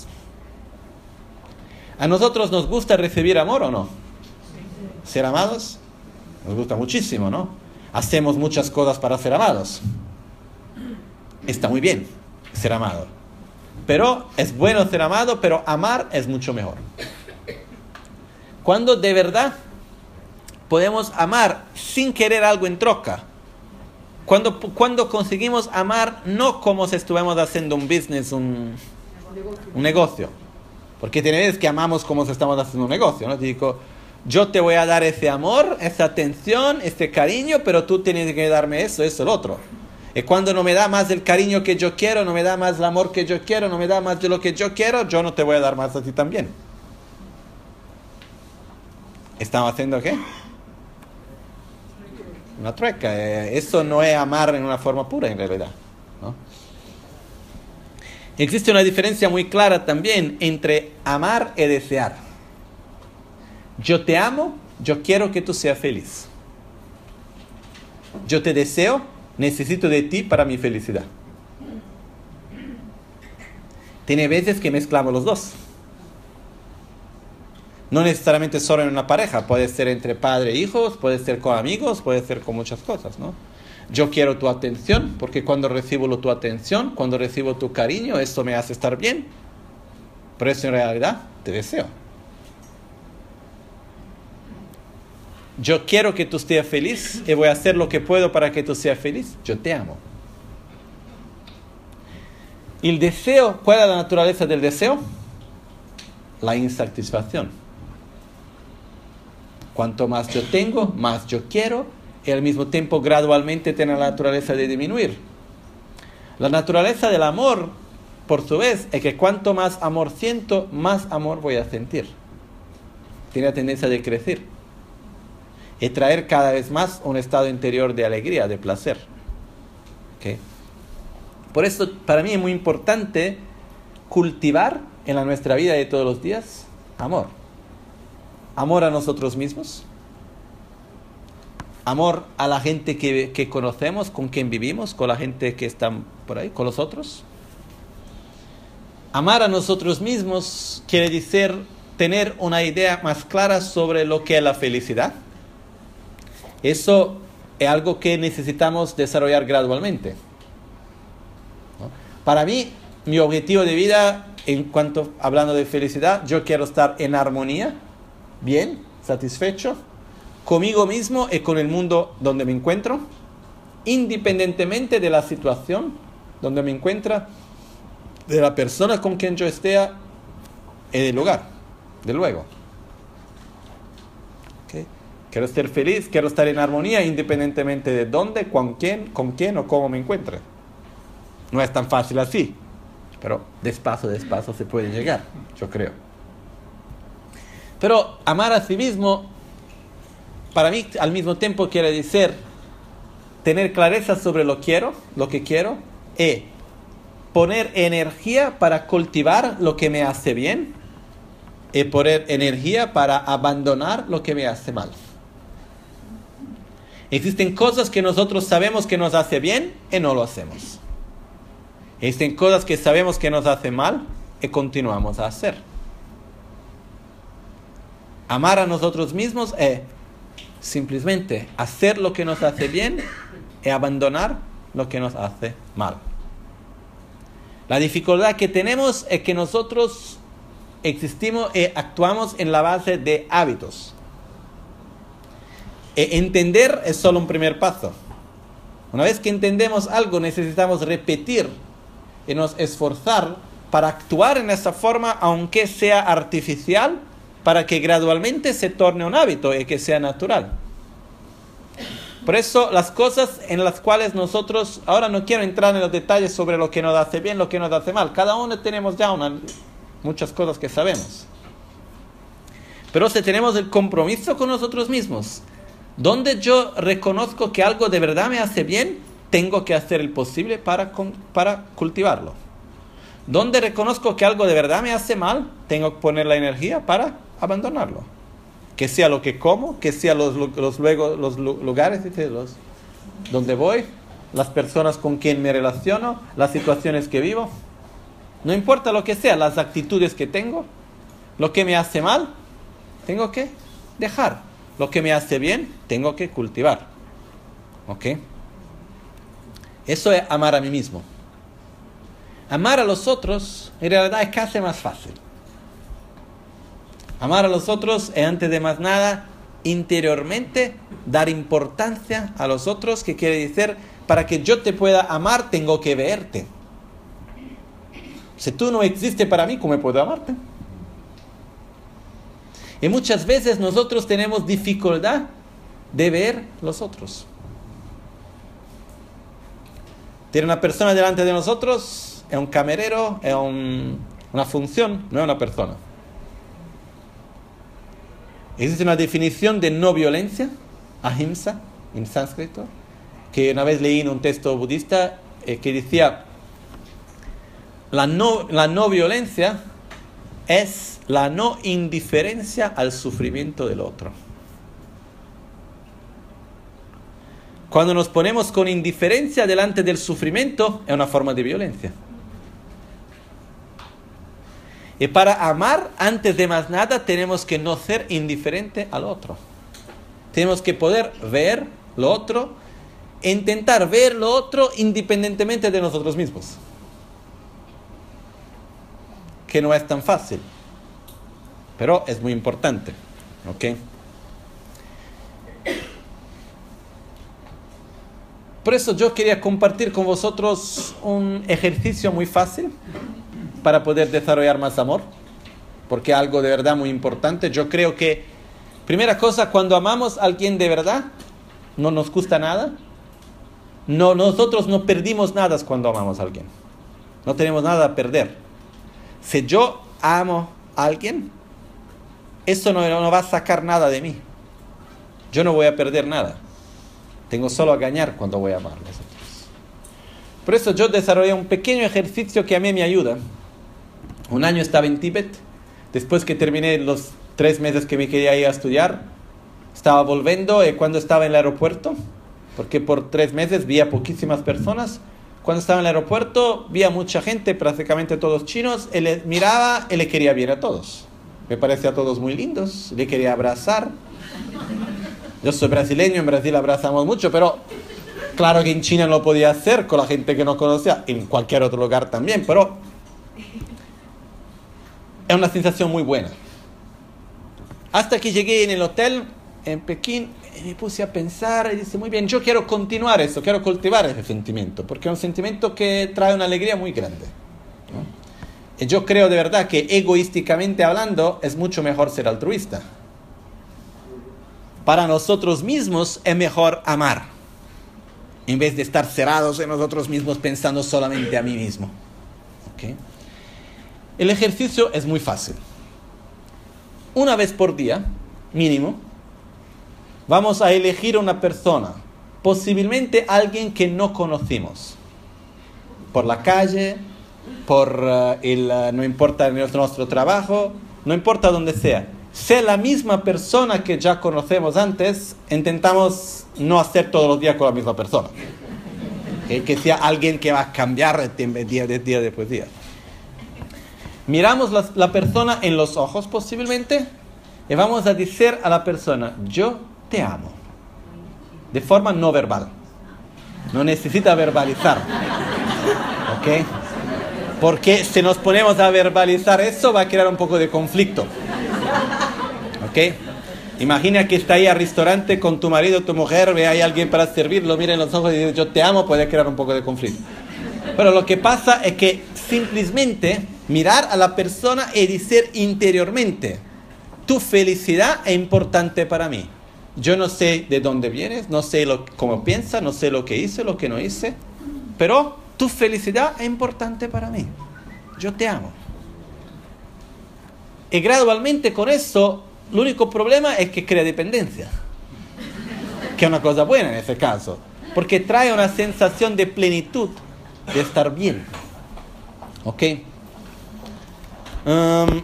[SPEAKER 1] ¿A nosotros nos gusta recibir amor o no? ¿Ser amados? Nos gusta muchísimo, ¿no? Hacemos muchas cosas para ser amados. Está muy bien ser amado. Pero es bueno ser amado, pero amar es mucho mejor. Cuando de verdad podemos amar sin querer algo en troca. Cuando, cuando conseguimos amar no como si estuviéramos haciendo un business, un, un negocio. Porque tiene veces que amamos como si estamos haciendo un negocio, ¿no? Te digo, yo te voy a dar ese amor, esa atención, ese cariño, pero tú tienes que darme eso, eso, el otro. Y cuando no me da más el cariño que yo quiero, no me da más el amor que yo quiero, no me da más de lo que yo quiero, yo no te voy a dar más a ti también. ¿Estamos haciendo qué? Una trueca. Eso no es amar en una forma pura en realidad, ¿no? Existe una diferencia muy clara también entre amar y desear. Yo te amo, yo quiero que tú seas feliz. Yo te deseo, necesito de ti para mi felicidad. Tiene veces que mezclamos los dos. No necesariamente solo en una pareja, puede ser entre padre e hijos, puede ser con amigos, puede ser con muchas cosas, ¿no? Yo quiero tu atención, porque cuando recibo tu atención, cuando recibo tu cariño, eso me hace estar bien. Pero eso en realidad te deseo. Yo quiero que tú estés feliz y voy a hacer lo que puedo para que tú seas feliz. Yo te amo. ¿Y el deseo? ¿Cuál es la naturaleza del deseo? La insatisfacción. Cuanto más yo tengo, más yo quiero, y al mismo tiempo gradualmente tiene la naturaleza de disminuir. La naturaleza del amor, por su vez, es que cuanto más amor siento, más amor voy a sentir. Tiene la tendencia de crecer y traer cada vez más un estado interior de alegría, de placer. ¿Okay? Por eso, para mí es muy importante cultivar en la nuestra vida de todos los días amor. Amor a nosotros mismos. Amor a la gente que, que conocemos, con quien vivimos, con la gente que está por ahí, con los otros. Amar a nosotros mismos quiere decir tener una idea más clara sobre lo que es la felicidad. Eso es algo que necesitamos desarrollar gradualmente, ¿no? Para mí, mi objetivo de vida, en cuanto hablando de felicidad, yo quiero estar en armonía, bien, satisfecho, conmigo mismo y con el mundo donde me encuentro, independientemente de la situación donde me encuentro, de la persona con quien yo esté y del lugar, de luego. ¿Okay? Quiero ser feliz, quiero estar en armonía independientemente de dónde, con quién, con quién o cómo me encuentre. No es tan fácil así, pero despacio, despacio se puede llegar, yo creo. Pero amar a sí mismo, para mí, al mismo tiempo quiere decir tener clareza sobre lo quiero, lo que quiero, y poner energía para cultivar lo que me hace bien, y poner energía para abandonar lo que me hace mal. Existen cosas que nosotros sabemos que nos hace bien y no lo hacemos. Existen cosas que sabemos que nos hace mal y continuamos a hacer. Amar a nosotros mismos es simplemente hacer lo que nos hace bien y abandonar lo que nos hace mal. La dificultad que tenemos es que nosotros existimos y actuamos en la base de hábitos. E entender es solo un primer paso. Una vez que entendemos algo, necesitamos repetir y nos esforzar para actuar en esa forma, aunque sea artificial, para que gradualmente se torne un hábito y que sea natural. Por eso las cosas en las cuales nosotros, ahora no quiero entrar en los detalles sobre lo que nos hace bien, lo que nos hace mal. Cada uno tenemos ya una, muchas cosas que sabemos. Pero si tenemos el compromiso con nosotros mismos, donde yo reconozco que algo de verdad me hace bien, tengo que hacer el posible para, para cultivarlo. Donde reconozco que algo de verdad me hace mal, tengo que poner la energía para abandonarlo. Que sea lo que como, que sea los, los, luego, los lugares los, donde voy, las personas con quien me relaciono, las situaciones que vivo. No importa lo que sea, las actitudes que tengo, lo que me hace mal, tengo que dejar. Lo que me hace bien, tengo que cultivar. ¿Ok? Eso es amar a mí mismo. Amar a los otros, en realidad es casi más fácil. Amar a los otros es, antes de más nada, interiormente dar importancia a los otros, que quiere decir, para que yo te pueda amar, tengo que verte. Si tú no existes para mí, ¿cómo puedo amarte? Y muchas veces nosotros tenemos dificultad de ver los otros. Tiene una persona delante de nosotros, es un camarero, es un, una función, no es una persona. Existe una definición de no violencia, ahimsa, en sánscrito, que una vez leí en un texto budista eh, que decía, la no, la no violencia es la no indiferencia al sufrimiento del otro. Cuando nos ponemos con indiferencia delante del sufrimiento, es una forma de violencia. Y para amar, antes de más nada, tenemos que no ser indiferente al otro. Tenemos que poder ver lo otro, e intentar ver lo otro independientemente de nosotros mismos. Que no es tan fácil, pero es muy importante. ¿Ok? Por eso yo quería compartir con vosotros un ejercicio muy fácil para poder desarrollar más amor, porque es algo de verdad muy importante. Yo creo que, primera cosa, cuando amamos a alguien de verdad, no nos cuesta nada. No, nosotros no perdimos nada cuando amamos a alguien. No tenemos nada a perder. Si yo amo a alguien, eso no, no va a sacar nada de mí. Yo no voy a perder nada. Tengo solo a ganar cuando voy a amar a los otros. Por eso yo desarrollé un pequeño ejercicio que a mí me ayuda. Un año estaba en Tíbet. Después que terminé los tres meses que me quería ir a estudiar, estaba volviendo y cuando estaba en el aeropuerto, porque por tres meses vi a poquísimas personas, cuando estaba en el aeropuerto vi a mucha gente, prácticamente todos chinos, y le miraba y le quería bien a todos. Me parecía a todos muy lindos, le quería abrazar. Yo soy brasileño, en Brasil abrazamos mucho, pero claro que en China no lo podía hacer con la gente que no conocía, en cualquier otro lugar también, pero es una sensación muy buena. Hasta que llegué en el hotel en Pekín y me puse a pensar y dije, muy bien, yo quiero continuar eso, quiero cultivar ese sentimiento, porque es un sentimiento que trae una alegría muy grande, ¿no? Y yo creo de verdad que egoísticamente hablando es mucho mejor ser altruista. Para nosotros mismos es mejor amar, en vez de estar cerrados en nosotros mismos pensando solamente a mí mismo. ¿Okay? El ejercicio es muy fácil. Una vez por día, mínimo, vamos a elegir una persona, posiblemente alguien que no conocimos, por la calle, por uh, el, uh, no importa nuestro, nuestro trabajo, no importa dónde sea. sea la misma persona que ya conocemos antes, intentamos no hacer todos los días con la misma persona. ¿Okay? Que sea alguien que va a cambiar día de día después de día. Miramos la, la persona en los ojos posiblemente y vamos a decir a la persona, yo te amo. De forma no verbal. No necesita verbalizar. ¿Ok? Porque si nos ponemos a verbalizar eso va a crear un poco de conflicto. ¿Ok? Imagina que está ahí al restaurante con tu marido, tu mujer, ve ahí a alguien para servir, lo mira en los ojos y dice yo te amo, puede crear un poco de conflicto. Pero lo que pasa es que simplemente mirar a la persona y decir interiormente, tu felicidad es importante para mí. Yo no sé de dónde vienes, no sé lo, cómo piensas, no sé lo que hice, lo que no hice, pero tu felicidad es importante para mí. Yo te amo. Y gradualmente con eso, el único problema es que crea dependencia. Que es una cosa buena en ese caso. Porque trae una sensación de plenitud, de estar bien. ¿Ok? Um,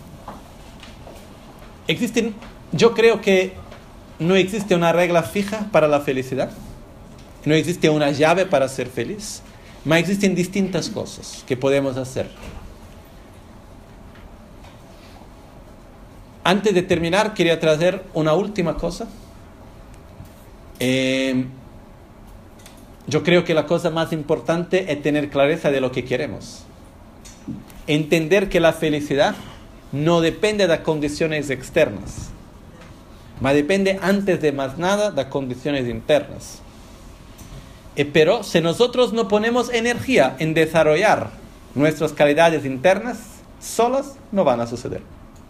[SPEAKER 1] existen, yo creo que no existe una regla fija para la felicidad. No existe una llave para ser feliz. Pero existen distintas cosas que podemos hacer. Antes de terminar, quería traer una última cosa. Eh, yo creo que la cosa más importante es tener clareza de lo que queremos. Entender que la felicidad no depende de las condiciones externas, mas depende antes de más nada de las condiciones internas. Eh, pero si nosotros no ponemos energía en desarrollar nuestras calidades internas, solas no van a suceder.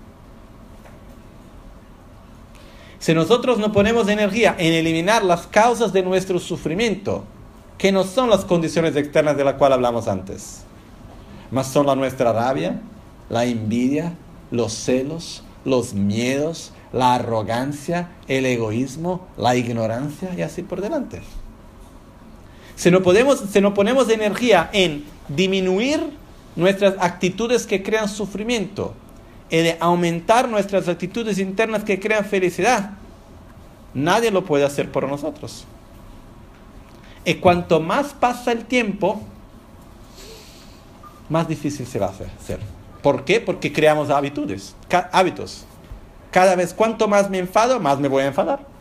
[SPEAKER 1] Si nosotros no ponemos energía en eliminar las causas de nuestro sufrimiento, que no son las condiciones externas de las cuales hablamos antes, mas son la nuestra rabia, la envidia, los celos, los miedos, la arrogancia, el egoísmo, la ignorancia y así por delante. Si no, podemos, si no ponemos energía en disminuir nuestras actitudes que crean sufrimiento y de aumentar nuestras actitudes internas que crean felicidad, nadie lo puede hacer por nosotros. Y cuanto más pasa el tiempo, más difícil se va a hacer. ¿Por qué? Porque creamos hábitos. hábitos. Cada vez cuanto más me enfado, más me voy a enfadar.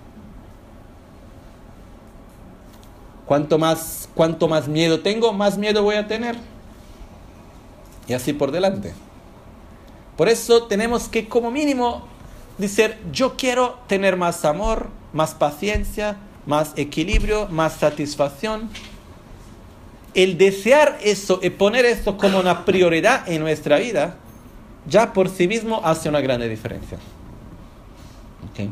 [SPEAKER 1] Cuanto más, cuanto más miedo tengo, más miedo voy a tener. Y así por delante. Por eso tenemos que como mínimo decir, yo quiero tener más amor, más paciencia, más equilibrio, más satisfacción. El desear eso y poner esto como una prioridad en nuestra vida, ya por sí mismo hace una gran diferencia. ¿Okay?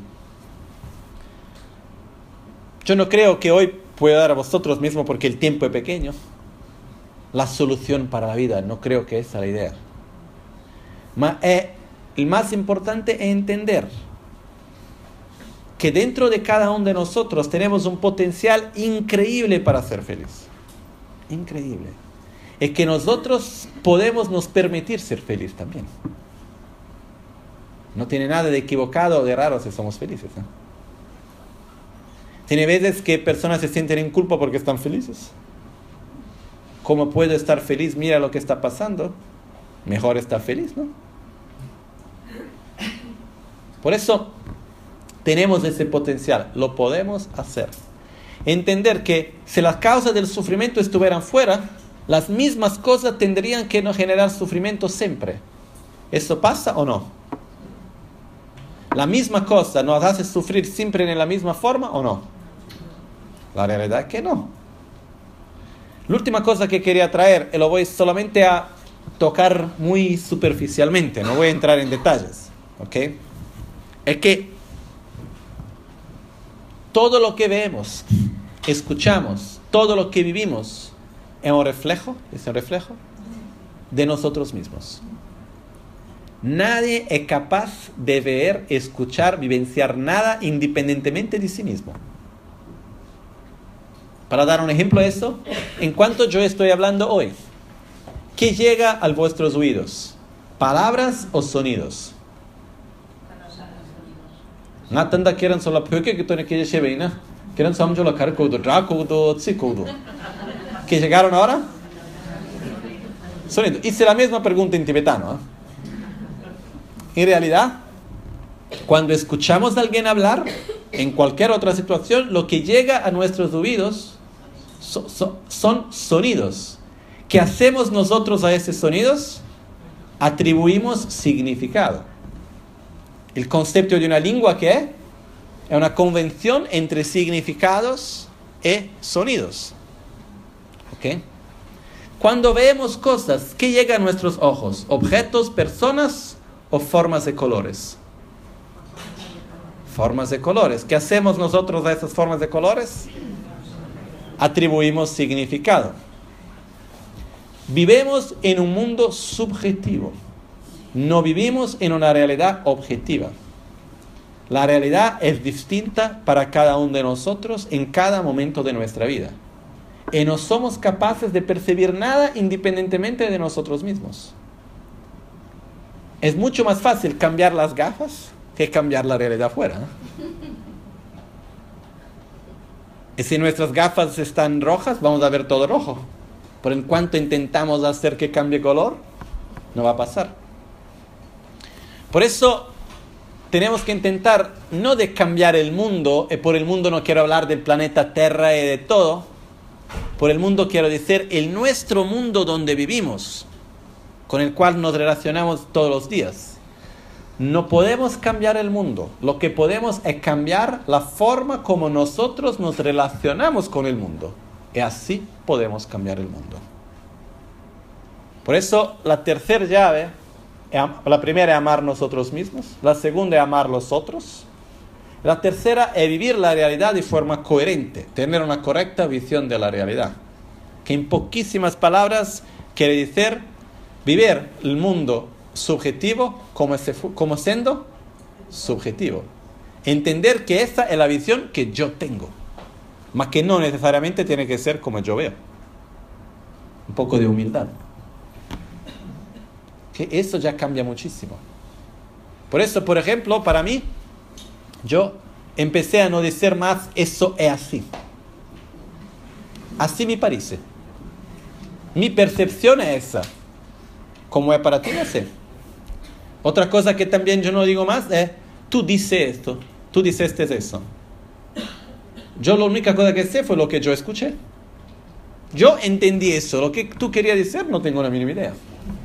[SPEAKER 1] Yo no creo que hoy pueda dar a vosotros mismos, porque el tiempo es pequeño, la solución para la vida. No creo que esa es la idea. Ma, eh, el más importante es entender que dentro de cada uno de nosotros tenemos un potencial increíble para ser feliz. Increíble. Es que nosotros podemos nos permitir ser felices también. No tiene nada de equivocado o de raro si somos felices, ¿eh? Tiene veces que personas se sienten en culpa porque están felices. ¿Cómo puedo estar feliz? Mira lo que está pasando. Mejor estar feliz, ¿no? Por eso tenemos ese potencial. Lo podemos hacer. Entender que si las causas del sufrimiento estuvieran fuera, las mismas cosas tendrían que no generar sufrimiento siempre. ¿Eso pasa o no? ¿La misma cosa nos hace sufrir siempre en la misma forma o no? La realidad es que no. La última cosa que quería traer, y lo voy solamente a tocar muy superficialmente, no voy a entrar en detalles, ¿ok? Es que todo lo que vemos, escuchamos, todo lo que vivimos, es un reflejo, es un reflejo de nosotros mismos. Nadie es capaz de ver, escuchar, vivenciar nada independientemente de sí mismo. Para dar un ejemplo de eso, en cuanto yo estoy hablando hoy, ¿qué llega a vuestros oídos? ¿Palabras o sonidos? Nga tanda kiran sola pyoke que tone que lleve ina. Kiran samjo la kar kodo, dra kodo, tsi kodo. ¿Que llegaron ahora? Sonido. Hice la misma pregunta en tibetano. ¿eh? En realidad, cuando escuchamos a alguien hablar, en cualquier otra situación, lo que llega a nuestros oídos so, so, son sonidos. ¿Qué hacemos nosotros a esos sonidos? Atribuimos significado. El concepto de una lengua, ¿qué es? Es una convención entre significados y sonidos. ¿Ok? Cuando vemos cosas, ¿qué llega a nuestros ojos? ¿Objetos, personas o formas de colores? Formas de colores. ¿Qué hacemos nosotros a esas formas de colores? Atribuimos significado. Vivimos en un mundo subjetivo. No vivimos en una realidad objetiva. La realidad es distinta para cada uno de nosotros en cada momento de nuestra vida. Y no somos capaces de percibir nada independientemente de nosotros mismos. Es mucho más fácil cambiar las gafas que cambiar la realidad afuera. ¿eh? Y si nuestras gafas están rojas, vamos a ver todo rojo. Pero en cuanto intentamos hacer que cambie color, no va a pasar. Por eso tenemos que intentar no de cambiar el mundo, y por el mundo no quiero hablar del planeta Tierra y de todo. Por el mundo quiero decir el nuestro mundo donde vivimos, con el cual nos relacionamos todos los días. No podemos cambiar el mundo. Lo que podemos es cambiar la forma como nosotros nos relacionamos con el mundo. Y así podemos cambiar el mundo. Por eso la tercera llave, la primera es amar nosotros mismos, la segunda es amar los otros, la tercera es vivir la realidad de forma coherente, tener una correcta visión de la realidad. Que en poquísimas palabras quiere decir vivir el mundo subjetivo como, ese, como siendo subjetivo. Entender que esa es la visión que yo tengo, más que no necesariamente tiene que ser como yo veo. Un poco de humildad. Que eso ya cambia muchísimo. Por eso, por ejemplo, para mí, yo empecé a no decir más eso es así. Así me parece. Mi percepción es esa. Como es para ti, no sé. Otra cosa que también yo no digo más es, tú dices esto, tú dices eso. Yo la única cosa que sé fue lo que yo escuché. Yo entendí eso. Lo que tú querías decir no tengo la mínima idea.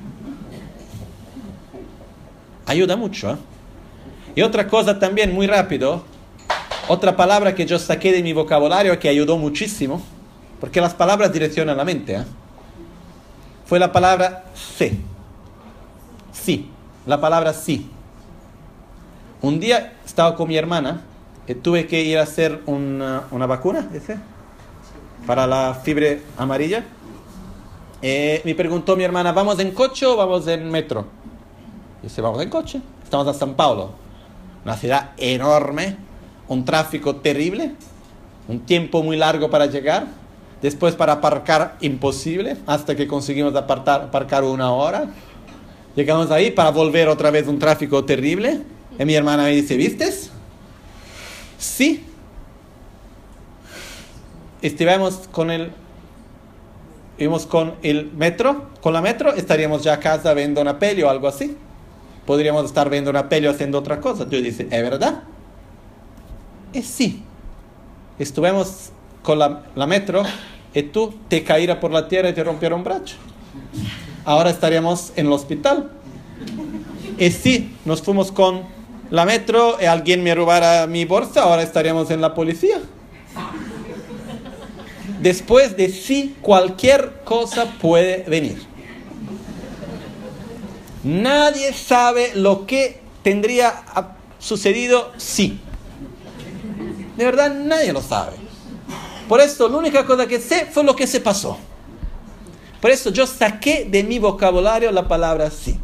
[SPEAKER 1] Ayuda mucho, ¿eh? Y otra cosa también, muy rápido, otra palabra que yo saqué de mi vocabulario que ayudó muchísimo, porque las palabras direccionan la mente, ¿eh? Fue la palabra sé. Sí, la palabra sí. Un día estaba con mi hermana y tuve que ir a hacer una, una vacuna, ¿ese? Para la fiebre amarilla. Eh, me preguntó mi hermana, ¿vamos en coche o vamos en metro? Y dice, vamos en coche. Estamos a San Paulo, una ciudad enorme, un tráfico terrible, un tiempo muy largo para llegar, después para aparcar imposible, hasta que conseguimos apartar, aparcar una hora. Llegamos ahí para volver otra vez un tráfico terrible. Y mi hermana me dice, ¿vistes? Sí. Estuvimos con el, íbamos con el metro, con la metro, estaríamos ya a casa viendo una peli o algo así. Podríamos estar viendo una peli o haciendo otra cosa. Yo dice, ¿es verdad? Y sí. Estuvimos con la, la metro y tú te caíras por la tierra y te rompieron un brazo. Ahora estaríamos en el hospital. Y sí, nos fuimos con la metro y alguien me robara mi bolsa, ahora estaríamos en la policía. Después de sí, cualquier cosa puede venir. Nadie sabe lo que tendría sucedido si. De verdad, nadie lo sabe. Por eso, la única cosa que sé fue lo que se pasó. Por eso, yo saqué de mi vocabulario la palabra sí.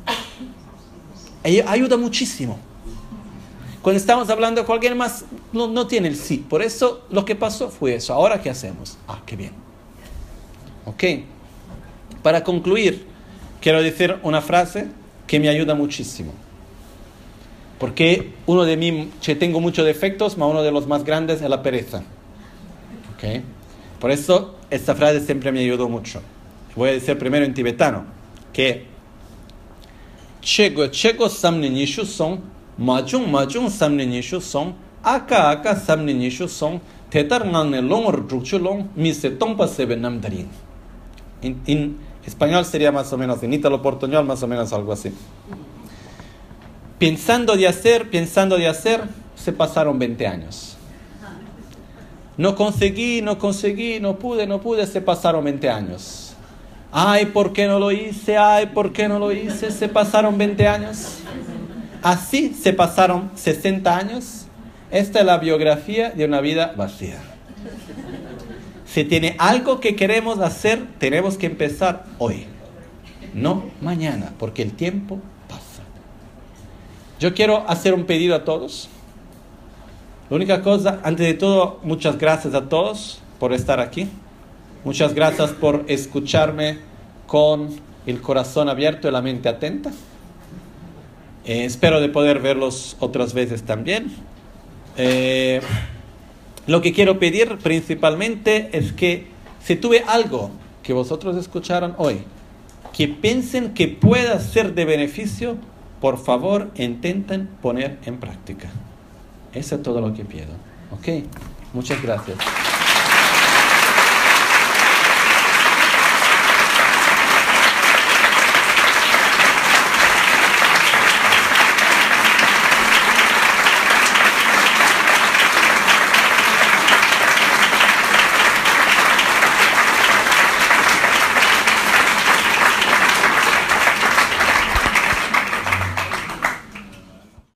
[SPEAKER 1] Ella ayuda muchísimo. Cuando estamos hablando con alguien más, no, no tiene el sí. Por eso, lo que pasó fue eso. Ahora, ¿qué hacemos? Ah, qué bien. Ok. Para concluir, quiero decir una frase que me ayuda muchísimo. Porque uno de mí, yo tengo muchos defectos, pero uno de los más grandes es la pereza. ¿Okay? Por eso esta frase siempre me ayudó mucho. Voy a decir primero en tibetano, que Chego chego samni nishu song, majung majung samni nishu song, aka aka samni nishu song, tetar ngane long rukchu long, mi se tompa sebe namdarin. En español sería más o menos, en ítalo portuñol más o menos algo así. Pensando de hacer, pensando de hacer, se pasaron veinte años. No conseguí, no conseguí, no pude, no pude, se pasaron veinte años. Ay, ¿por qué no lo hice? Ay, ¿por qué no lo hice? Se pasaron veinte años. Así se pasaron sesenta años. Esta es la biografía de una vida vacía. Si tiene algo que queremos hacer, tenemos que empezar hoy, no mañana, porque el tiempo pasa. Yo quiero hacer un pedido a todos. La única cosa, antes de todo, muchas gracias a todos por estar aquí. Muchas gracias por escucharme con el corazón abierto y la mente atenta. Eh, espero de poder verlos otras veces también. Eh, lo que quiero pedir principalmente es que si tuve algo que vosotros escucharon hoy, que piensen que pueda ser de beneficio, por favor intenten poner en práctica. Eso es todo lo que pido. ¿Ok? Muchas gracias.